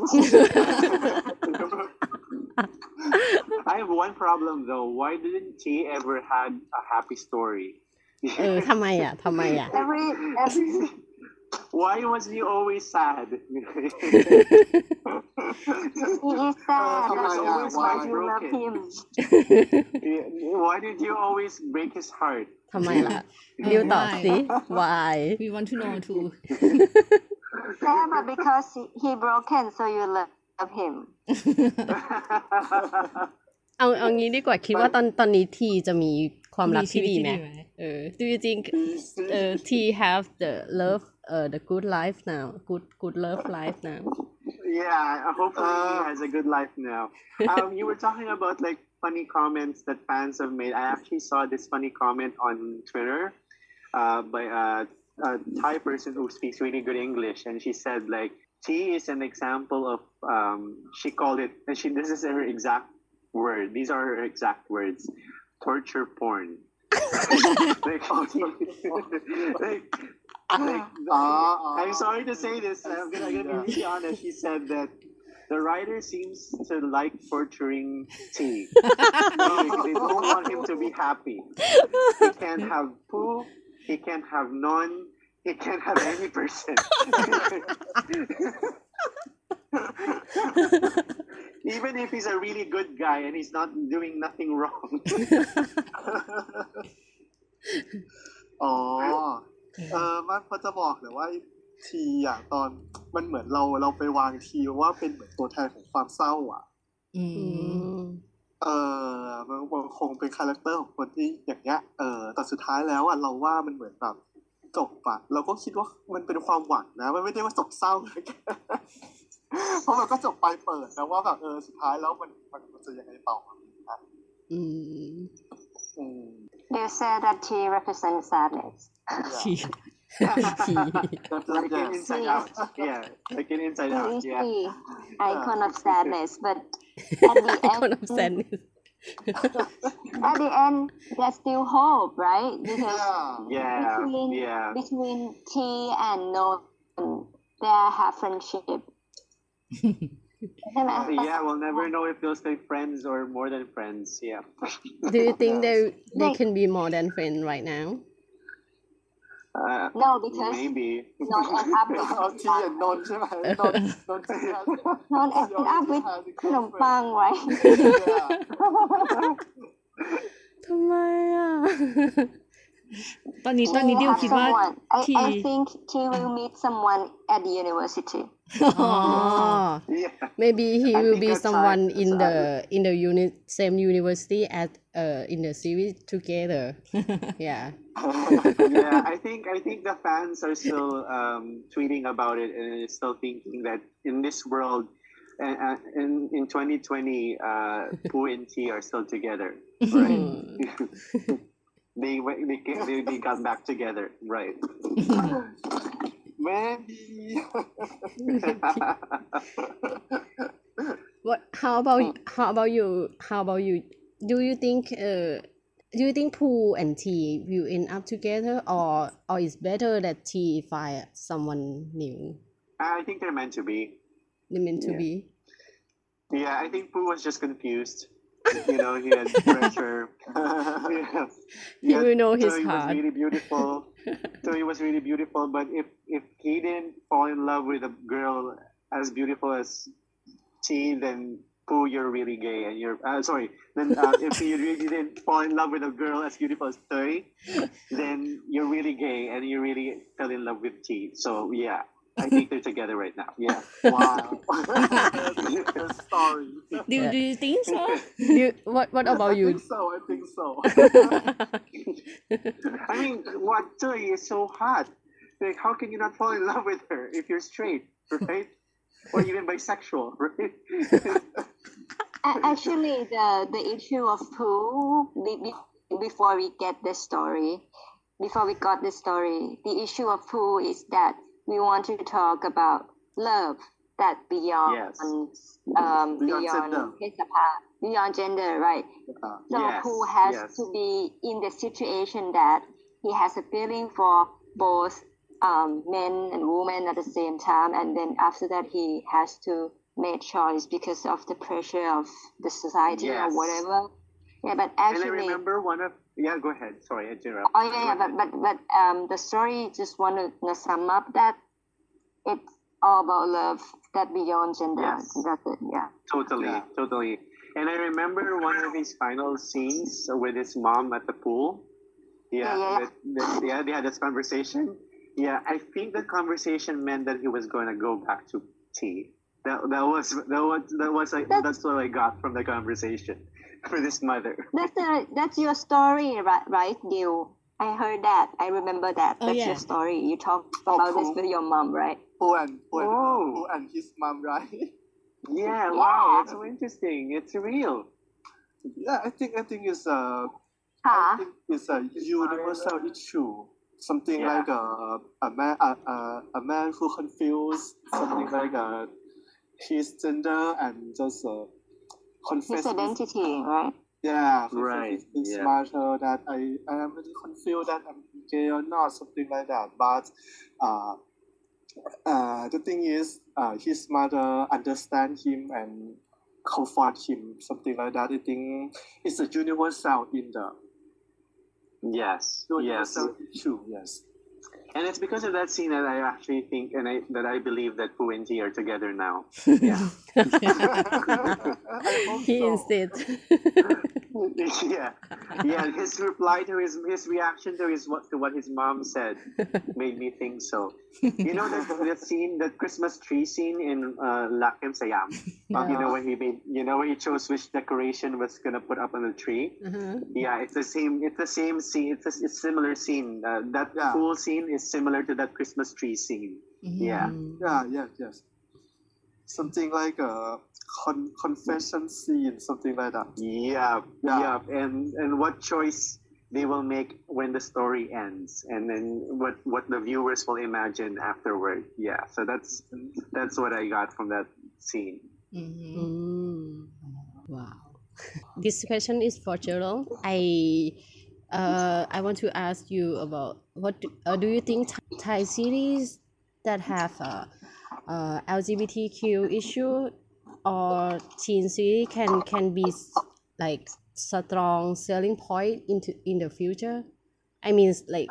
I have one problem though. Why didn't T ever had a happy story?
ทำไมอ่ะ
Every
Why was he always sad?
he is sad.
always
Why
my
you love him?
Why did you always break his heart?
ทำไมล่ะดิวตอบสิ why
We want to know too.
Yeah, but because he broken, so you love him.
เอางี้ดีกว่าคิดว่าตอนนี้ทีจะมีความรักที่ดีไหม Do you think T have the love the good life now good love life now
Yeah, hopefully he has a good life now. You were talking about like funny comments that fans have made. I actually saw this funny comment on Twitter by a Thai person who speaks really good English, and she said like T is an example of she called it, and this is her exact word. These are her exact words. Torture porn. like, I'm sorry to say this. I'm gonna be really honest. She said that the writer seems to like torturing T. They don't want him to be happy. He can't have Pooh. He can't have Non. He can't have any person. Even if he's a really good guy and he's not doing nothing wrong.
อ๋อมันพอจะบอกเลยว่าทีอ่ะตอนมันเหมือนเราไปวางทีว่าเป็นเหมือนตัวแทนของความเศร้าอ่ะ
อืม
มันคงเป็นคาแรคเตอร์ของคนที่อย่างเงี้ยแต่สุดท้ายแล้วอ่ะเราว่ามันเหมือนแบบจบอ่ะเราก็คิดว่ามันเป็นความหวังนะมันไม่ได้ว่าจบเศร้า เพราะมันก็จบไปเปิดนะว่าแบบสุดท้ายแล้วมันจะยังไงต่อนะ
They say that tea represents sadness.
ชี
Like in Inside Out. Yeah. Like in Inside
It
Out.
is
Yeah.
the icon of sadness, but at the
Icon of
end,
sadness.
at the end, there's still hope, right? Because
Yeah.
between
Yeah.
between T and No, they have friendship. ใช่ไหม
Yeah, we'll never know if they'll stay friends or more than friends. Yeah.
Do you think they can be more than friends right now?
No, because
Maybe.
Non end up with
เอาทีอ่ะนนท์ใช่ไหมนนท์
Non end up with ขนมปัง right?
ทำไมอ่ะ
ตอนนี้ดิว
have
คิดว่า
someone.
ที
I think T will meet someone at the university.
Oh,
Yeah.
maybe he
I
will
think
be
that's
someone
sad.
in the same university as in the series together. Yeah.
Yeah, I think the fans are still tweeting about it and still thinking that in this world, in 2020, Pooh and T are still together, right? they got back together, right?
Maybe
What? How about you? Do you think Pooh and T will end up together, or it's better that T find someone new?
I think they're meant to be.
They meant to
Yeah.
be.
Yeah, I think Pooh was just confused. You know, he had pressure. Yeah.
He will know his
so he
heart.
was really beautiful. So he was really beautiful. But if he didn't fall in love with a girl as beautiful as T, then Pooh, you're really gay, and you're sorry. Then if you really didn't fall in love with a girl as beautiful as Toy, then you're really gay, and you really fell in love with T. So yeah, I think they're together right now. Yeah.
wow sorry
do you think so?
What about
I
you?
think so
I mean, what Toy is so hot. Like, how can you not fall in love with her if you're straight, right? Or even bisexual, right?
Actually, the issue of Pooh, before we got this story, the issue of Pooh is that we want to talk about love that beyond
Yes.
beyond beyond gender, right? So
Yes,
Pooh has
yes.
to be in the situation that he has a feeling for both men and women at the same time, and then after that he has to make choice because of the pressure of the society or
Yes.
whatever. Yeah, but
And I
actually,
remember one of go ahead. Sorry, I interrupted.
oh yeah, but the story just want to sum up that it's all about love that beyond gender.
Yes.
That's it. Yeah.
Totally. And I remember one of his final scenes with his mom at the pool.
Yeah.
They had this conversation. Yeah, I think the conversation meant that he was going to go back to T. That's what I got from the conversation for this mother.
That's your story, right, Diu? I heard that. I remember that.
Oh,
That's
yeah.
your story. You talked about this with your mom, right?
Pooh
Oh.
and his mom right
Yeah, wow,
Yeah.
that's so interesting. It's real.
yeah I think it's I
Huh?
think it's a universal issue. Something
Yeah.
like a man who confused something like his gender and just confess
his identity, right?
yeah,
Right,
his
yeah.
mother that I am really confused that I'm gay or not, something like that. But the thing is, his mother understand him and comfort him, something like that. I think it's a universal in the
Yes, yes.
universal issue. Yes.
And it's because of that scene that I actually think that I believe that Pooh and T are together now. Yeah.
I hope
He
so.
insisted.
yeah, yeah. His reply to his reaction to what his mom said made me think so. You know that scene, that Christmas tree scene in Lakim Sayam. You know when he chose which decoration was gonna put up on the tree.
Uh-huh.
Yeah, it's the same. It's the same scene. It's a similar scene. That
Yeah.
pool scene is similar to that Christmas tree scene. Yeah.
Yes. Something like a confession scene, something like that.
Yeah,
Yeah.
yeah, and what choice they will make when the story ends, and then what the viewers will imagine afterward. Yeah, so that's what I got from that scene.
Wow. This question is for Gerald. I want to ask you about what do you think Thai series that have LGBTQ issue or teen series can be like strong selling point in the future? I mean like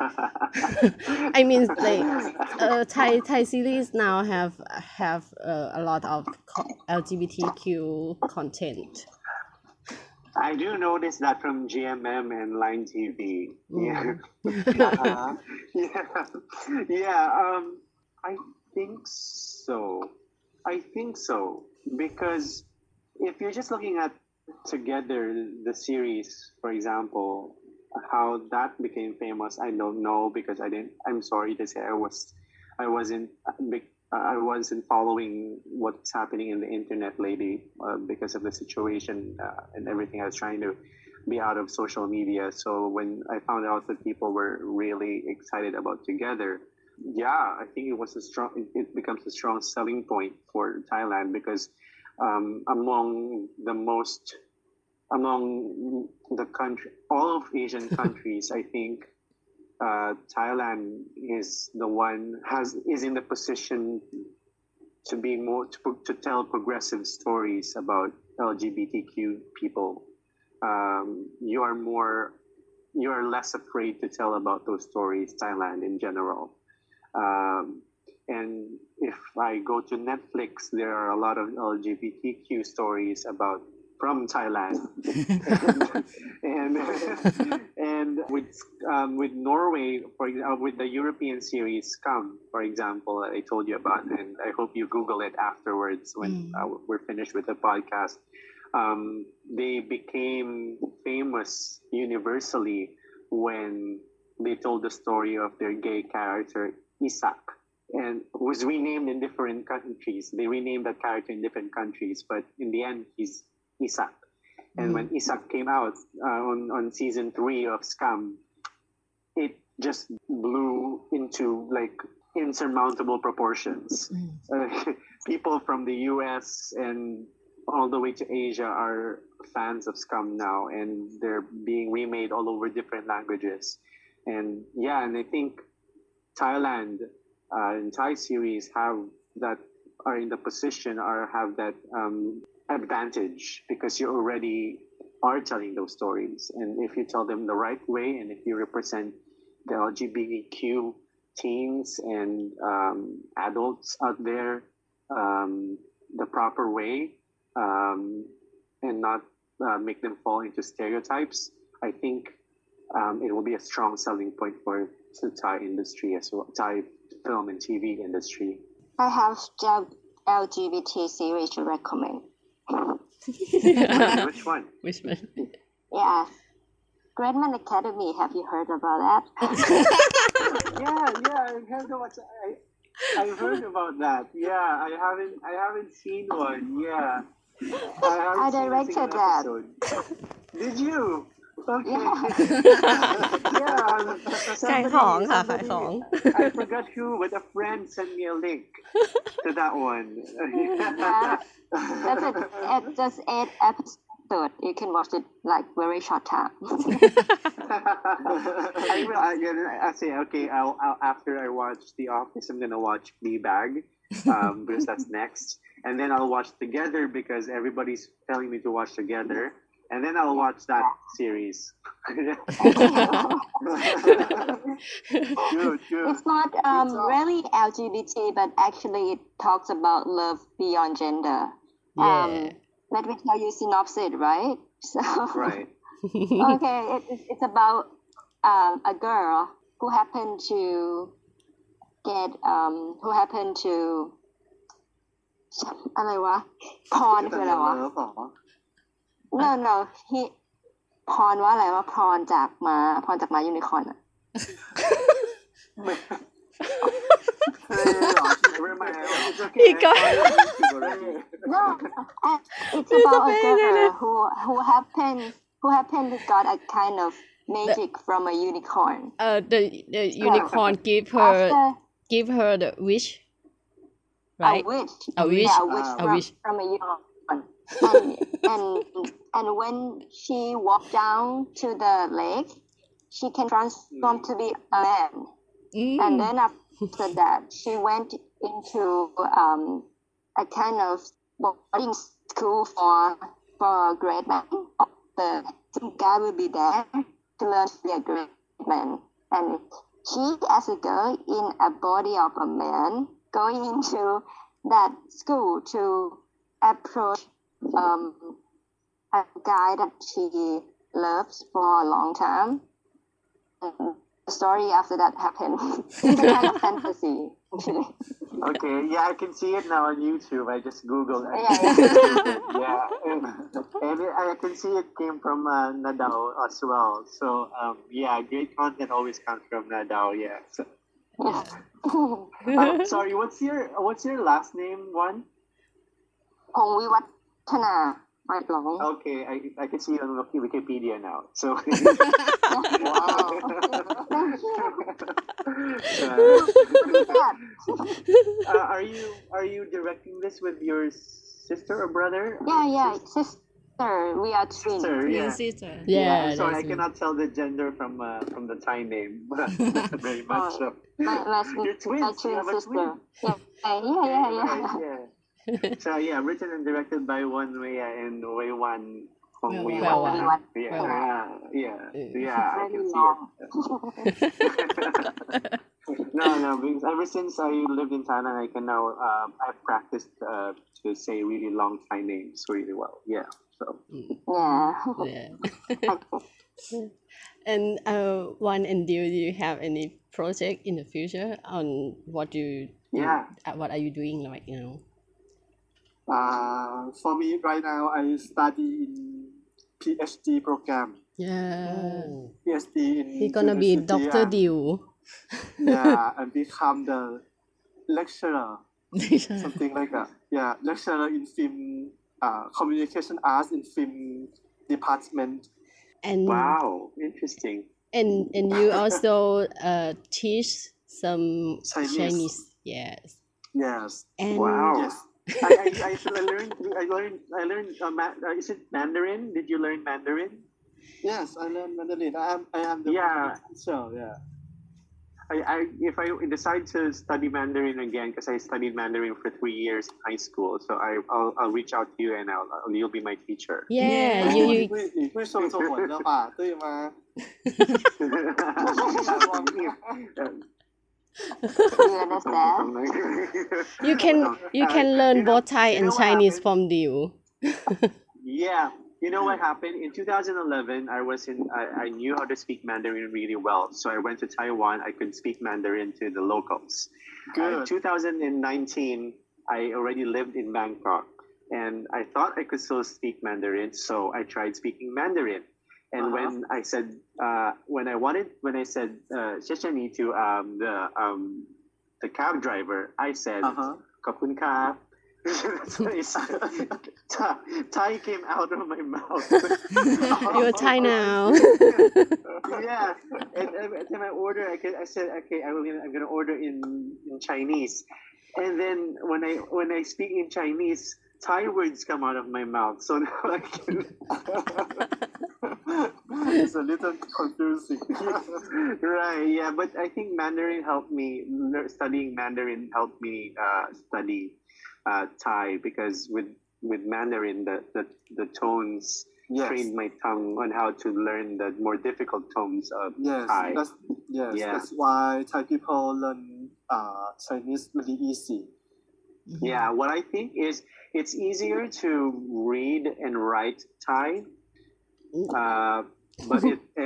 Thai series now have a lot of LGBTQ content.
I do notice that from GMM and Line TV. Yeah.
Uh-huh.
Yeah. I think so. Because if you're just looking at together the series, for example, how that became famous, I don't know because I'm sorry to say I wasn't following what's happening in the internet lately because of the situation and everything. I was trying to be out of social media. So when I found out that people were really excited about Together, yeah, I think it becomes a strong selling point for Thailand because among the country, all of Asian countries, I think Thailand is in the position to be to tell progressive stories about LGBTQ people. You are less afraid to tell about those stories, Thailand in general. And if I go to Netflix, there are a lot of LGBTQ stories from Thailand, and with Norway, for example, with the European series Scum, for example, I told you about, and I hope you Google it afterwards when we're finished with the podcast. They became famous universally when they told the story of their gay character Isak, and was renamed in different countries. They renamed that character in different countries, but in the end, he's Isak. And when Isak came out on season 3 of Scum, it just blew into like insurmountable proportions. People from the US and all the way to Asia are fans of Scum now, and they're being remade all over different languages. And yeah, and I think Thailand and Thai series are in the position or have that advantage because you already are telling those stories, and if you tell them the right way, and if you represent the LGBTQ teens and adults out there the proper way, and not make them fall into stereotypes, I think it will be a strong selling point for the Thai industry as well, Thai film and TV industry.
I have LGBT series to recommend.
Which one?
Which one?
Yeah. Great Man Academy, have you heard about that?
Yeah, I've heard about that. Yeah, I haven't seen one. Yeah.
I directed that.
Did you? Okay.
Yeah.
I forgot who, but a friend sent me a link to that one.
Yeah. That's it. It's just 8 episodes. episode. You can watch it like very short time.
I say okay. I'll after I watch The Office, I'm gonna watch Fleabag, because that's next, and then I'll watch Together because everybody's telling me to watch Together, and then I'll watch that series.
Good, good.
It's not really LGBT, but actually it talks about love beyond gender.
Yeah.
Let me tell you synopsis, right? So
Right.
okay, it's about a girl who happened to get who happened to อะไรวะพรคืออะไรวะ no he พรว่าอะไรวะพรจากม้ายูนิคอร์นอะ
It's okay.
He got-
no it's about a girl who happened to got a kind of magic from a unicorn
the unicorn
after
give her the wish, right?
a wish
A wish.
yeah, a wish
A wish.
from a unicorn and when she walked down to the lake she can transform to be a man and then after that she went into a kind of boarding school for great men some guy will be there to learn to be a great man and she as a girl in a body of a man going into that school to approach a guy that she loves for a long time and the story after that happened it's a kind of fantasy actually.
Okay, yeah, I can see it now on YouTube. I just Googled it. Yeah, and I can see it came from Nadao as well. So yeah, great content always comes from Nadao. Yeah. So, sorry, what's your last name? One.
พงษ์วิวัฒนาไม่หลง
Okay, I can see it on Wikipedia now. So.
wow
Are you directing this with your sister or brother?
yeah sister we are twins
Sister, yeah.
Sister.
Yeah,
I'm sorry, I
that's
cannot tell the gender from the Thai name very much. So.
my
You're twins.
my
You
twin
have a
sister
twin.
yeah
Yeah. So yeah, written and directed by Wan Wei and Wei Wan Hong Wei
Wei
Wan.
Wan.
Yeah, I can see it. No, because ever since I lived in Thailand, I can now I've practiced to say really long Thai names really well. Yeah, so
yeah
Yeah. And One and do you have any project in the future on what you
Yeah.
what are you doing right now?
For me right now, I study in PhD program.
Yeah.
PhD in
He's gonna be
university
Dr.
and-
Diu.
Yeah, and become the lecturer, something like that. Yeah, lecturer in film, communication arts in film department.
And
wow, interesting.
and you also teach some
Chinese.
Yes.
Yes.
And
Wow.
Yes.
I learned is it Mandarin? Did you learn Mandarin?
Yes, I learned Mandarin. I am the
Yeah.
teacher. Yeah.
If I decide to study Mandarin again, because I studied Mandarin for 3 years in high school, so I'll reach out to you and you'll be my teacher.
yeah, you
你会说中文的吧？对吗？
you understand
you can learn both Thai
you
and
know what
Chinese
happened?
from Diu.
Yeah. You know what happened? In 2011, I knew how to speak Mandarin really well. So I went to Taiwan. I could speak Mandarin to the locals. In
Good.
2019, I already lived in Bangkok. And I thought I could still speak Mandarin. So I tried speaking Mandarin. And when I said, when I said, 谢谢你 to the cab driver, I said, ขอบคุณครับ. That's what I said. Thai came out of my mouth.
You're Thai now.
Yeah, and every time I order, I said, okay, I'm gonna order in Chinese, and then when I speak in Chinese, Thai words come out of my mouth, so now I can.
It's a little confusing.
Right, yeah, but I think Mandarin helped me. Studying Mandarin helped me study Thai, because with Mandarin, the tones
Yes.
trained my tongue on how to learn the more difficult tones of Thai. Yeah.
That's why Thai people learn Chinese really easy.
Yeah, what I think is it's easier to read and write Thai, but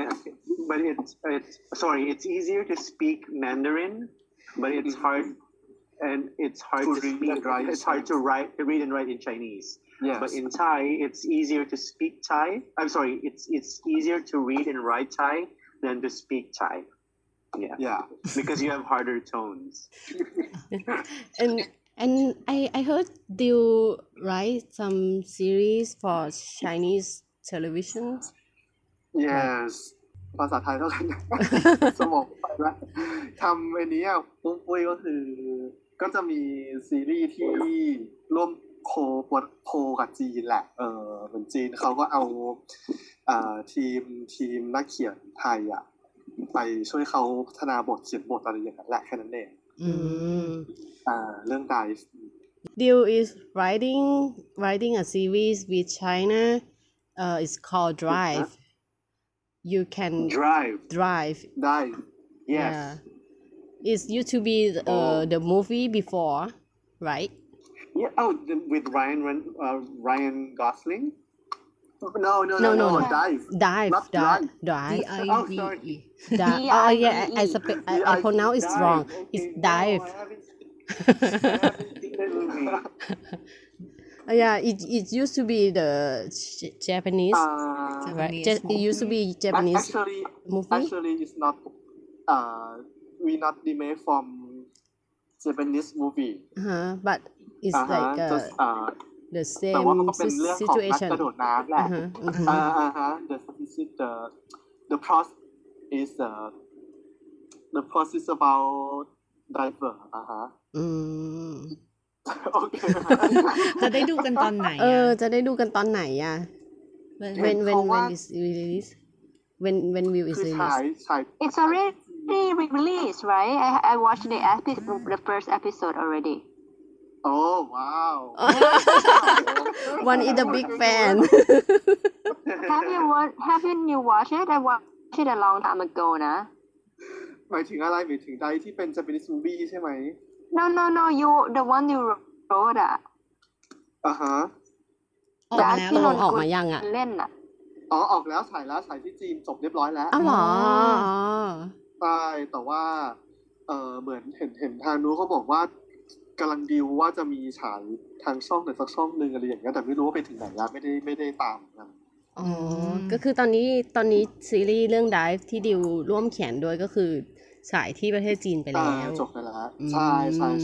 it's easier to speak Mandarin, but it's hard
To
to
read
speak.
and write
It's hard to read and write in Chinese.
Yes.
But in Thai, it's easier to speak Thai. I'm sorry, it's easier to read and write Thai than to speak Thai. Yeah, because you have harder tones.
And I heard you write some series for Chinese television.
Yes ภาษาไทยเท่ากัน สมองไปแล้วทำอันนี้ปุ้ยก็คือก็จะมีซีรีส์ที่ร่วมโคกับจีนแหละเหมือนจีนเขาก็เอาทีมนักเขียนไทยไปช่วยเขาพัฒนาบทเขียนบทอะไรอย่างนั้นแหละแค่นั้นเองเรื่อง Dive
Diu is writing a series with China. It's called Drive. You can
Drive.
Dive
Yes.
Yeah. It used to be the movie before, right?
Yeah. Oh, with Ryan Gosling.
No Dive
Dive.
Not
Dive.
Drive.
Dive.
Oh, sorry.
Oh yeah, I pronounce it wrong. It's Dive.
No, I haven't seen that movie.
Yeah, it used to be the Japanese. Right? It used to be Japanese movie.
Actually it's not we not remake from Japanese movie
But it's like
just
the
แต่ว่า
same
มันก็เป็นเรื่องของนัก
situation.
กระโดดน้ำแหละthe plot is about diver โอเค
จะได้ดูกันตอนไหน
จะได้ดูกันตอนไหนอ่ะ when is release when will it
คือ
release
ฉาย
It's already released, right? I watched the first episode already.
Oh wow
One is a big fan.
Haven't you watched it? I watched it a long time ago, นะ
หมายถึงอะไรหมายถึงไดที่เป็น Japanese movie ใช่ไหม
No, the one you wrote อ่ะ
ออกมาแล้ว
ที่นน
ออกมายังอะ
เล่นอ่ะ
ออกแล้วฉายที่จีนจบเรียบร้อยแล้ว
อ้าวเหรอ
ใช่แต่ว่าเหมือนเห็นทางนู้นเขาบอกว่ากำลังดีลว่าจะมีฉายทางช่องไหนสักช่องนึงอะไรอย่างเงี้ยแต่ไม่รู้ว่าไปถึงไหนแล้วไม่ได้ตามกัน
อ๋อ ก็คือตอนนี้ซีรีส์เรื่อง Dive ที่ดิวร่วมเขียนด้วยก็คือฉายที่ประเทศจีนไปแล้ว
จบไปแล้วใช่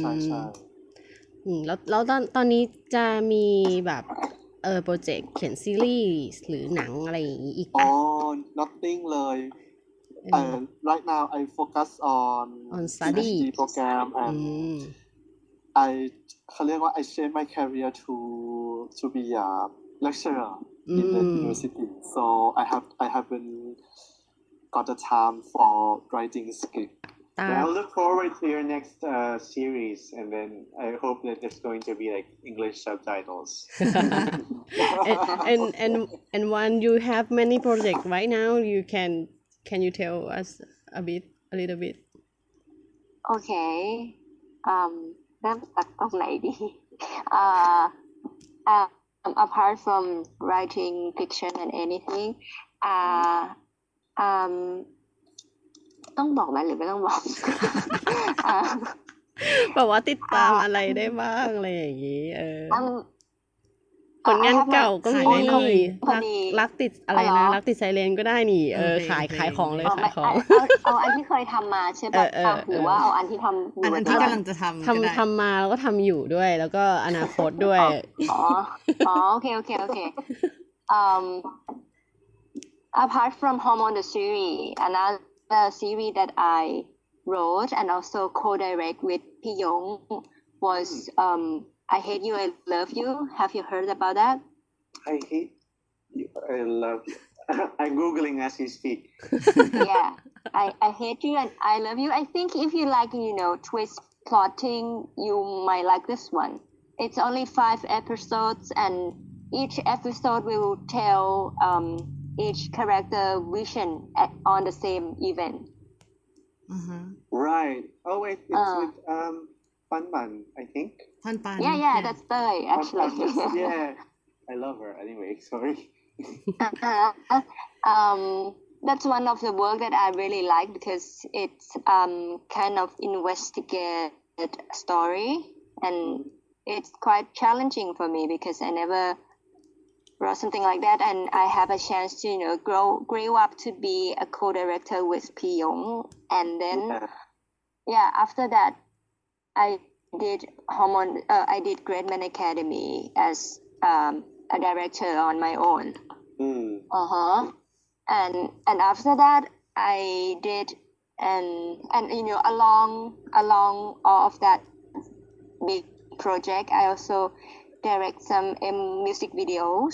แล้วตอนนี้จะมีแบบโปรเจกต์เขียนซีรีส์หรือหนังอะไรอย่างนี้อีกปะ
nothing เลย right now I focus on
study
PhD program andเขาเรียกว่า I change my career to be a lecturer in the university so I haven't got the time for writing script
I look forward to your next series, and then I hope that there's going to be like English subtitles.
and when you have many projects right now, can you tell us a little bit?
Okay. เริ่มจากตรงไหนดี apart from writing fiction and anything ต้องบอกไหมหรือไม่ต้องบอก
แบบว่าติดตามอะไรได้บ้างอะไรอย่างนี้ผลงานเก่าก็มีรักติดอะไรนะรักติดไซเรนก็ได้นี่ขายของเลยขายของ
เอาอันที่เคยทำมาใช่ป่ะหรือว่าเอาอันที่ทำ
อันที่กำลังจะ
ทำมาแล้วก็ทำอยู่ด้วยแล้วก็อนาคตด้วย
โอเคapart from Hormone the series another series that I wrote and also co-direct with พี่ยงwas I Hate You, I Love You. Have you heard about that?
I hate you. I love you. I'm Googling as you speak.
Yeah. I Hate You and I Love You. I think if you like, twist plotting, you might like this one. It's only 5 episodes, and each episode will tell each character vision on the same event.
Right. Oh wait, it's with Pan Pan, I think.
พันปัน
Yeah, that's Thai,
Pan
actually.
Pan, yeah. I love her. Anyway, sorry.
That's one of the work that I really like because it's kind of investigative story, and it's quite challenging for me because I never wrote something like that, and I have a chance to grow up to be a co-director with Pi Yong, and then after that I did I did Great Man Academy as a director on my own. And after that I did and along all of that big project I also direct some music videos,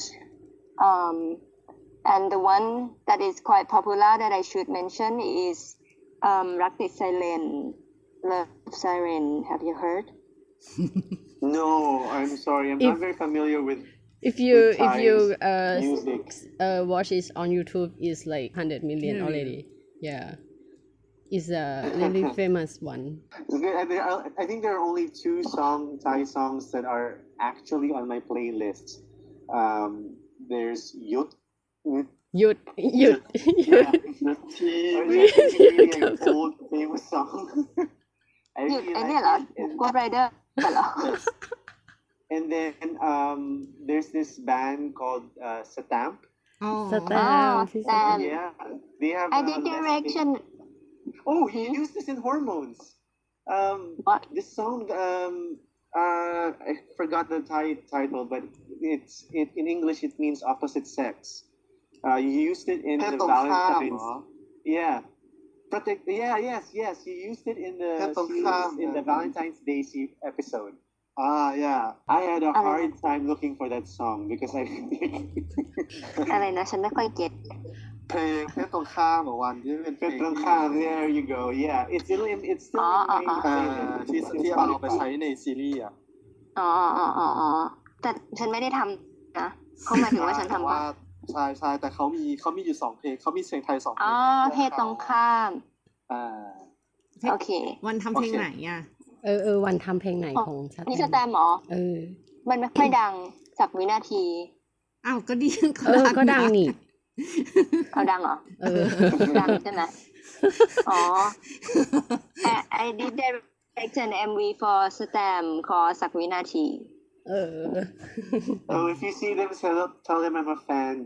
and the one that is quite popular that I should mention is Rak Tit Siren, Love Siren. Have you heard?
No, I'm sorry. I'm not very familiar with.
If you
music.
watch it on YouTube, it's like 100 million already. Yeah, it's a really famous one.
I think there are only 2 Thai songs that are actually on my playlist. There's Yut.
Yut.
Really old famous song. I
หยุด
really
ไอ้
like
เนี่ยเหรอ
it.
Ghost Rider เหรอ
And then there's this band called Satamp.
อ๋อ
Satam, please
Satam.
Yeah, they have.
I did direction.
Oh, you used this in Hormones.
What?
This song. I forgot the title, but in English it means opposite sex. You used it in
เพศ
the
ตรงข้ามเหร
Valentine's.
อ
Yeah. Yes. You used it in the
เพศตรงข้าม
series, in the Valentine's Day episode.
yeah
I had a hard time looking for that song because I
อะไรนะฉันไม่ค่อยเก็ต
เพลงเพศตรงข้ามของวันที่เป็นเพลง
There you go. Yeah, it's still in my
ที่เอาไปใช้ในซีรีส์อ่ะ
อ๋อแต่ฉันไม่ได้ทำนะเขาหมายถึงว่าฉันทำ
ว่า
ว่า
ใช่แต่เขามีอยู่2เพลงเขามีเสียงไทย2เพล
อ๋อง เพศตรงข้าม โอเค
วันทำเพลงไหนอ่ะ
วันทำเพลงไหนของชัด
นี่สแตมป์เหรอ มันไม่ค่อยดังสักวินาที
อ้าวก็ดี
ก็ดังนี่
เอาดังเหรอ ดังใช่ไหมอ๋อ I did direct an MV for Stam called สักวินาที
Oh, if you see them, tell them I'm a fan.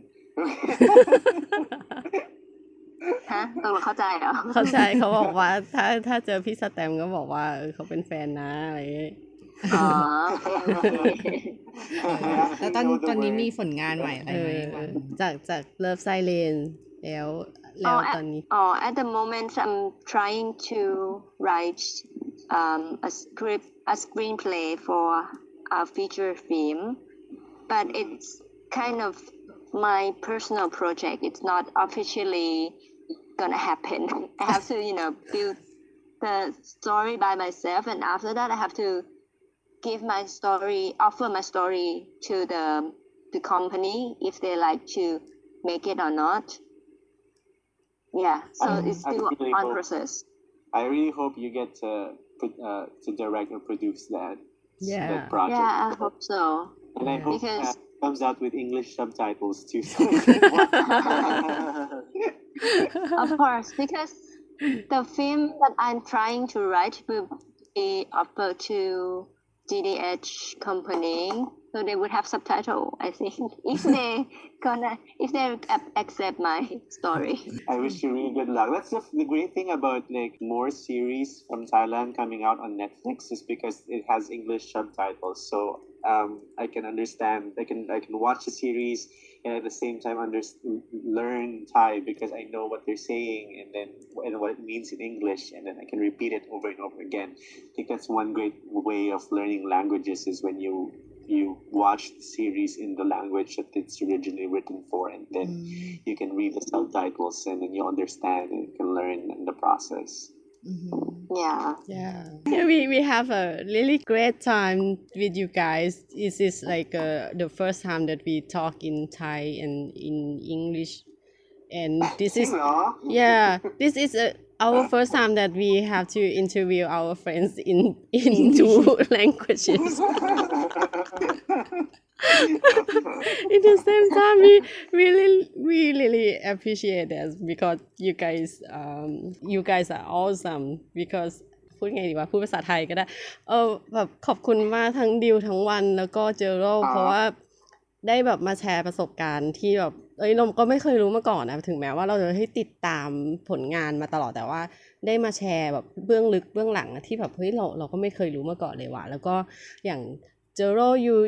ฮะเข้าใจเหรอ
เข้าใจเขาบอกว่าถ้าเจอพี่สแตมก็บอกว่าเขาเป็นแฟนนะอะไรอย่างเงี้ย
อ๋อ
แล้วตอนนี้มีผลงานใหม่อะไรไหมบ้าง
จาก Love Siren แล้วตอนนี้
at the moment I'm trying to write a screenplay for a feature film, but it's kind of my personal project. It's not officially gonna happen. I have to build the story by myself, and after that I have to offer my story to the company if they like to make it or not. Yeah, so it's still on process.
I really hope you get to direct or produce that project.
Yeah, I hope so.
And I hope
Because
that comes out with English subtitles too.
of course, because the film that I'm trying to write will be offered to GDH company, so they would have subtitle, I think, if they accept my story.
I wish you really good luck. That's the great thing about more series from Thailand coming out on Netflix is because it has English subtitles. So I can understand. I can watch the series and at the same time learn Thai because I know what they're saying and what it means in English, and then I can repeat it over and over again. I think that's one great way of learning languages is when you watch the series in the language that it's originally written for, and then you can read the subtitles and then you understand and you can learn in the process.
Yeah.
Yeah, we have a really great time with you guys. This is like the first time that we talk in Thai and in English, and this is this is our first time that we have to interview our friends in two languages. In the same time, we really appreciate this because you guys are awesome because พูดไงดีวะพูดภาษาไทยก็ได้แบบขอบคุณมากทั้งดิวทั้งวันแล้วก็เจอโรเพราะว่าได้แบบมาแชร์ประสบการณ์ที่แบบเราก็ไม่เคยรู้มาก่อนนะถึงแม้ว่าเราจะให้ติดตามผลงานมาตลอดแต่ว่าได้มาแชร์แบบเบื้องลึกเบื้องหลังที่แบบเฮ้ยเราก็ไม่เคยรู้มาก่อนเลยว่ะแล้วก็อย่างเจอโร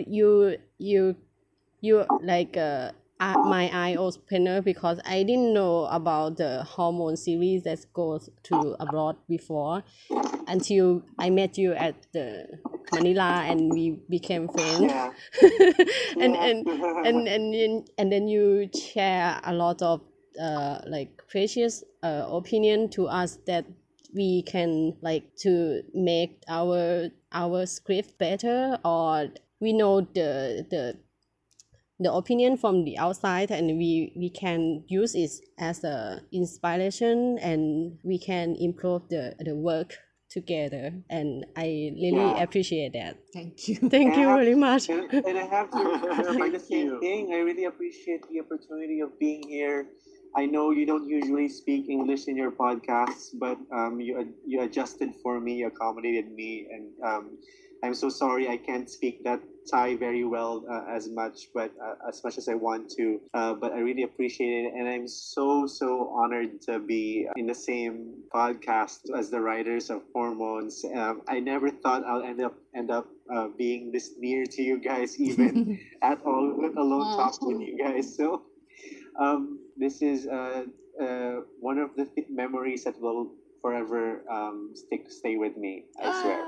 you like my eye opener because I didn't know about the hormone series that goes to abroad before until I met you at the Manila and we became friends. And then you share a lot of like precious opinion to us that we can like to make our script better, or we know the opinion from the outside and we can use it as a inspiration and we can improve the work together, and I really appreciate that. Thank you very much.
And I have to say the same thing. I really appreciate the opportunity of being here. I know you don't usually speak English in your podcasts, but you adjusted for me, you accommodated me, and I'm so sorry I can't speak that Thai very well as much as I want to. But I really appreciate it, and I'm so honored to be in the same podcast as the writers of Hormones. I never thought I'll end up being this near to you guys, even at all, let alone talk with you guys. So this is one of the memories that will forever stay with me, I swear.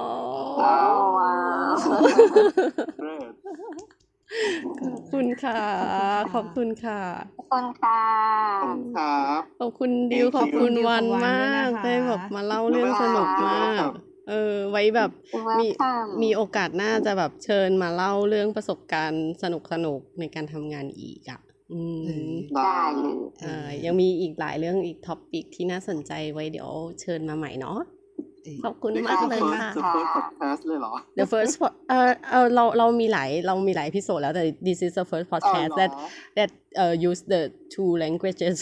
Great.
ขอบคุณค่ะ
ขอบคุณค่ะ
ขอบคุณดิวขอบคุณวันมากได้แบบมาเล่าเรื่องสนุกมากไว้แบบมีโอกาสหน้าจะแบบเชิญมาเล่าเรื่องประสบการณ์สนุกในการทำงานอีกอ่ะ
ได้
ยังมีอีกหลายเรื่องอีกท็อปิกที่น่าสนใจไว้เดี๋ยวเชิญมาใหม่เนาะขอบคุณมากเลยค่ะ
The first podcast เลยเหรอ
The first เรามีหลายพิโซดแล้วแต่ this is the first podcast that use the two languages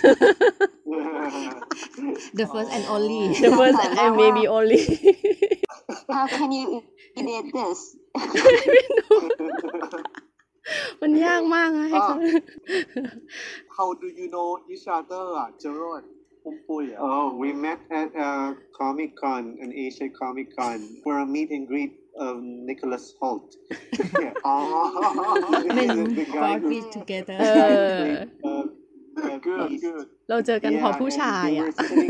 The first and only
the first and maybe only
How can you edit this
มันยากมากนะให้เขา
How do you know each other อ่ะ Gerald ปุ้มปุ้ยอ่ะ
Oh, we met at Comic Con, an Asia Comic Con, for a meet and greet of Nicholas Hoult.
Men
The guy
brought
who
me together
Good
เราเจอกันเพราะผู้ชายอ่ะ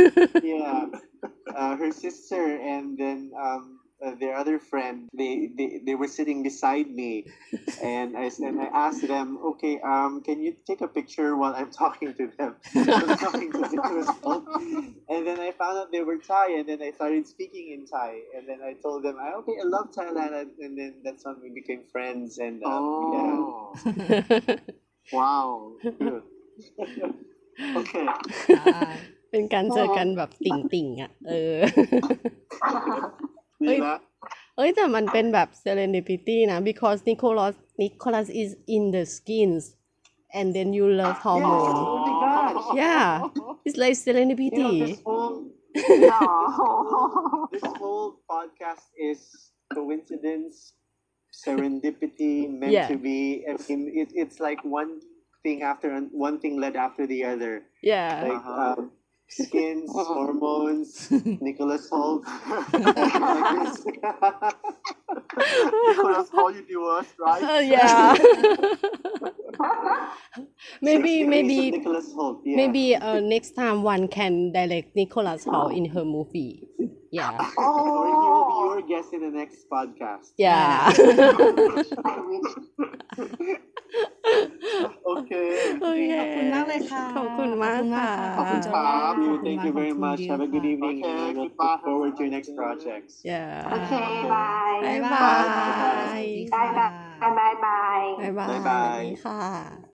her sister and then their other friend, they were sitting beside me, and I asked them, okay, can you take a picture while I'm talking to them? I was talking to Nicholas Hoult, and then I found out they were Thai, and then I started speaking in Thai, and then I told them, okay, I love Thailand, and then that's when we became friends, and
Wow good
Okay.
เป็นการเจอกันแบบติ่งอ่ะ
ดีนะ
แต่มันเป็นแบบ serendipity นะ because Nicholas is in the skins and then you love hormone
Oh my gosh.
yeah it's like serendipity
This whole podcast is coincidence, serendipity, meant to be. I mean, it's like one thing led after the other.
yeah
Like skins, hormones, Nicholas Hoult.
Nicholas Hall Universe, right?
Yeah. maybe
6 degrees of
maybe
Nicholas Holt. Yeah.
maybe next time one can direct Nicholas Hall in her movie. Yeah.
Or he will be your guest in the next podcast.
Yeah.
I wish.
Okay.
โอเค
ขอบคุณมากเลยค่ะ
ขอบคุณมากค่ะ
ขอบคุณจอย
ขอบคุณ
Thank you very much. Have a good evening.
Okay,
and look
goodbye.
forward to your next projects.
Yeah.
Okay, bye.
บ๊ายบาย
Bye bye. Bye bye.
บ๊ายบาย
บ๊ายบาย
สวัสดีค่ะ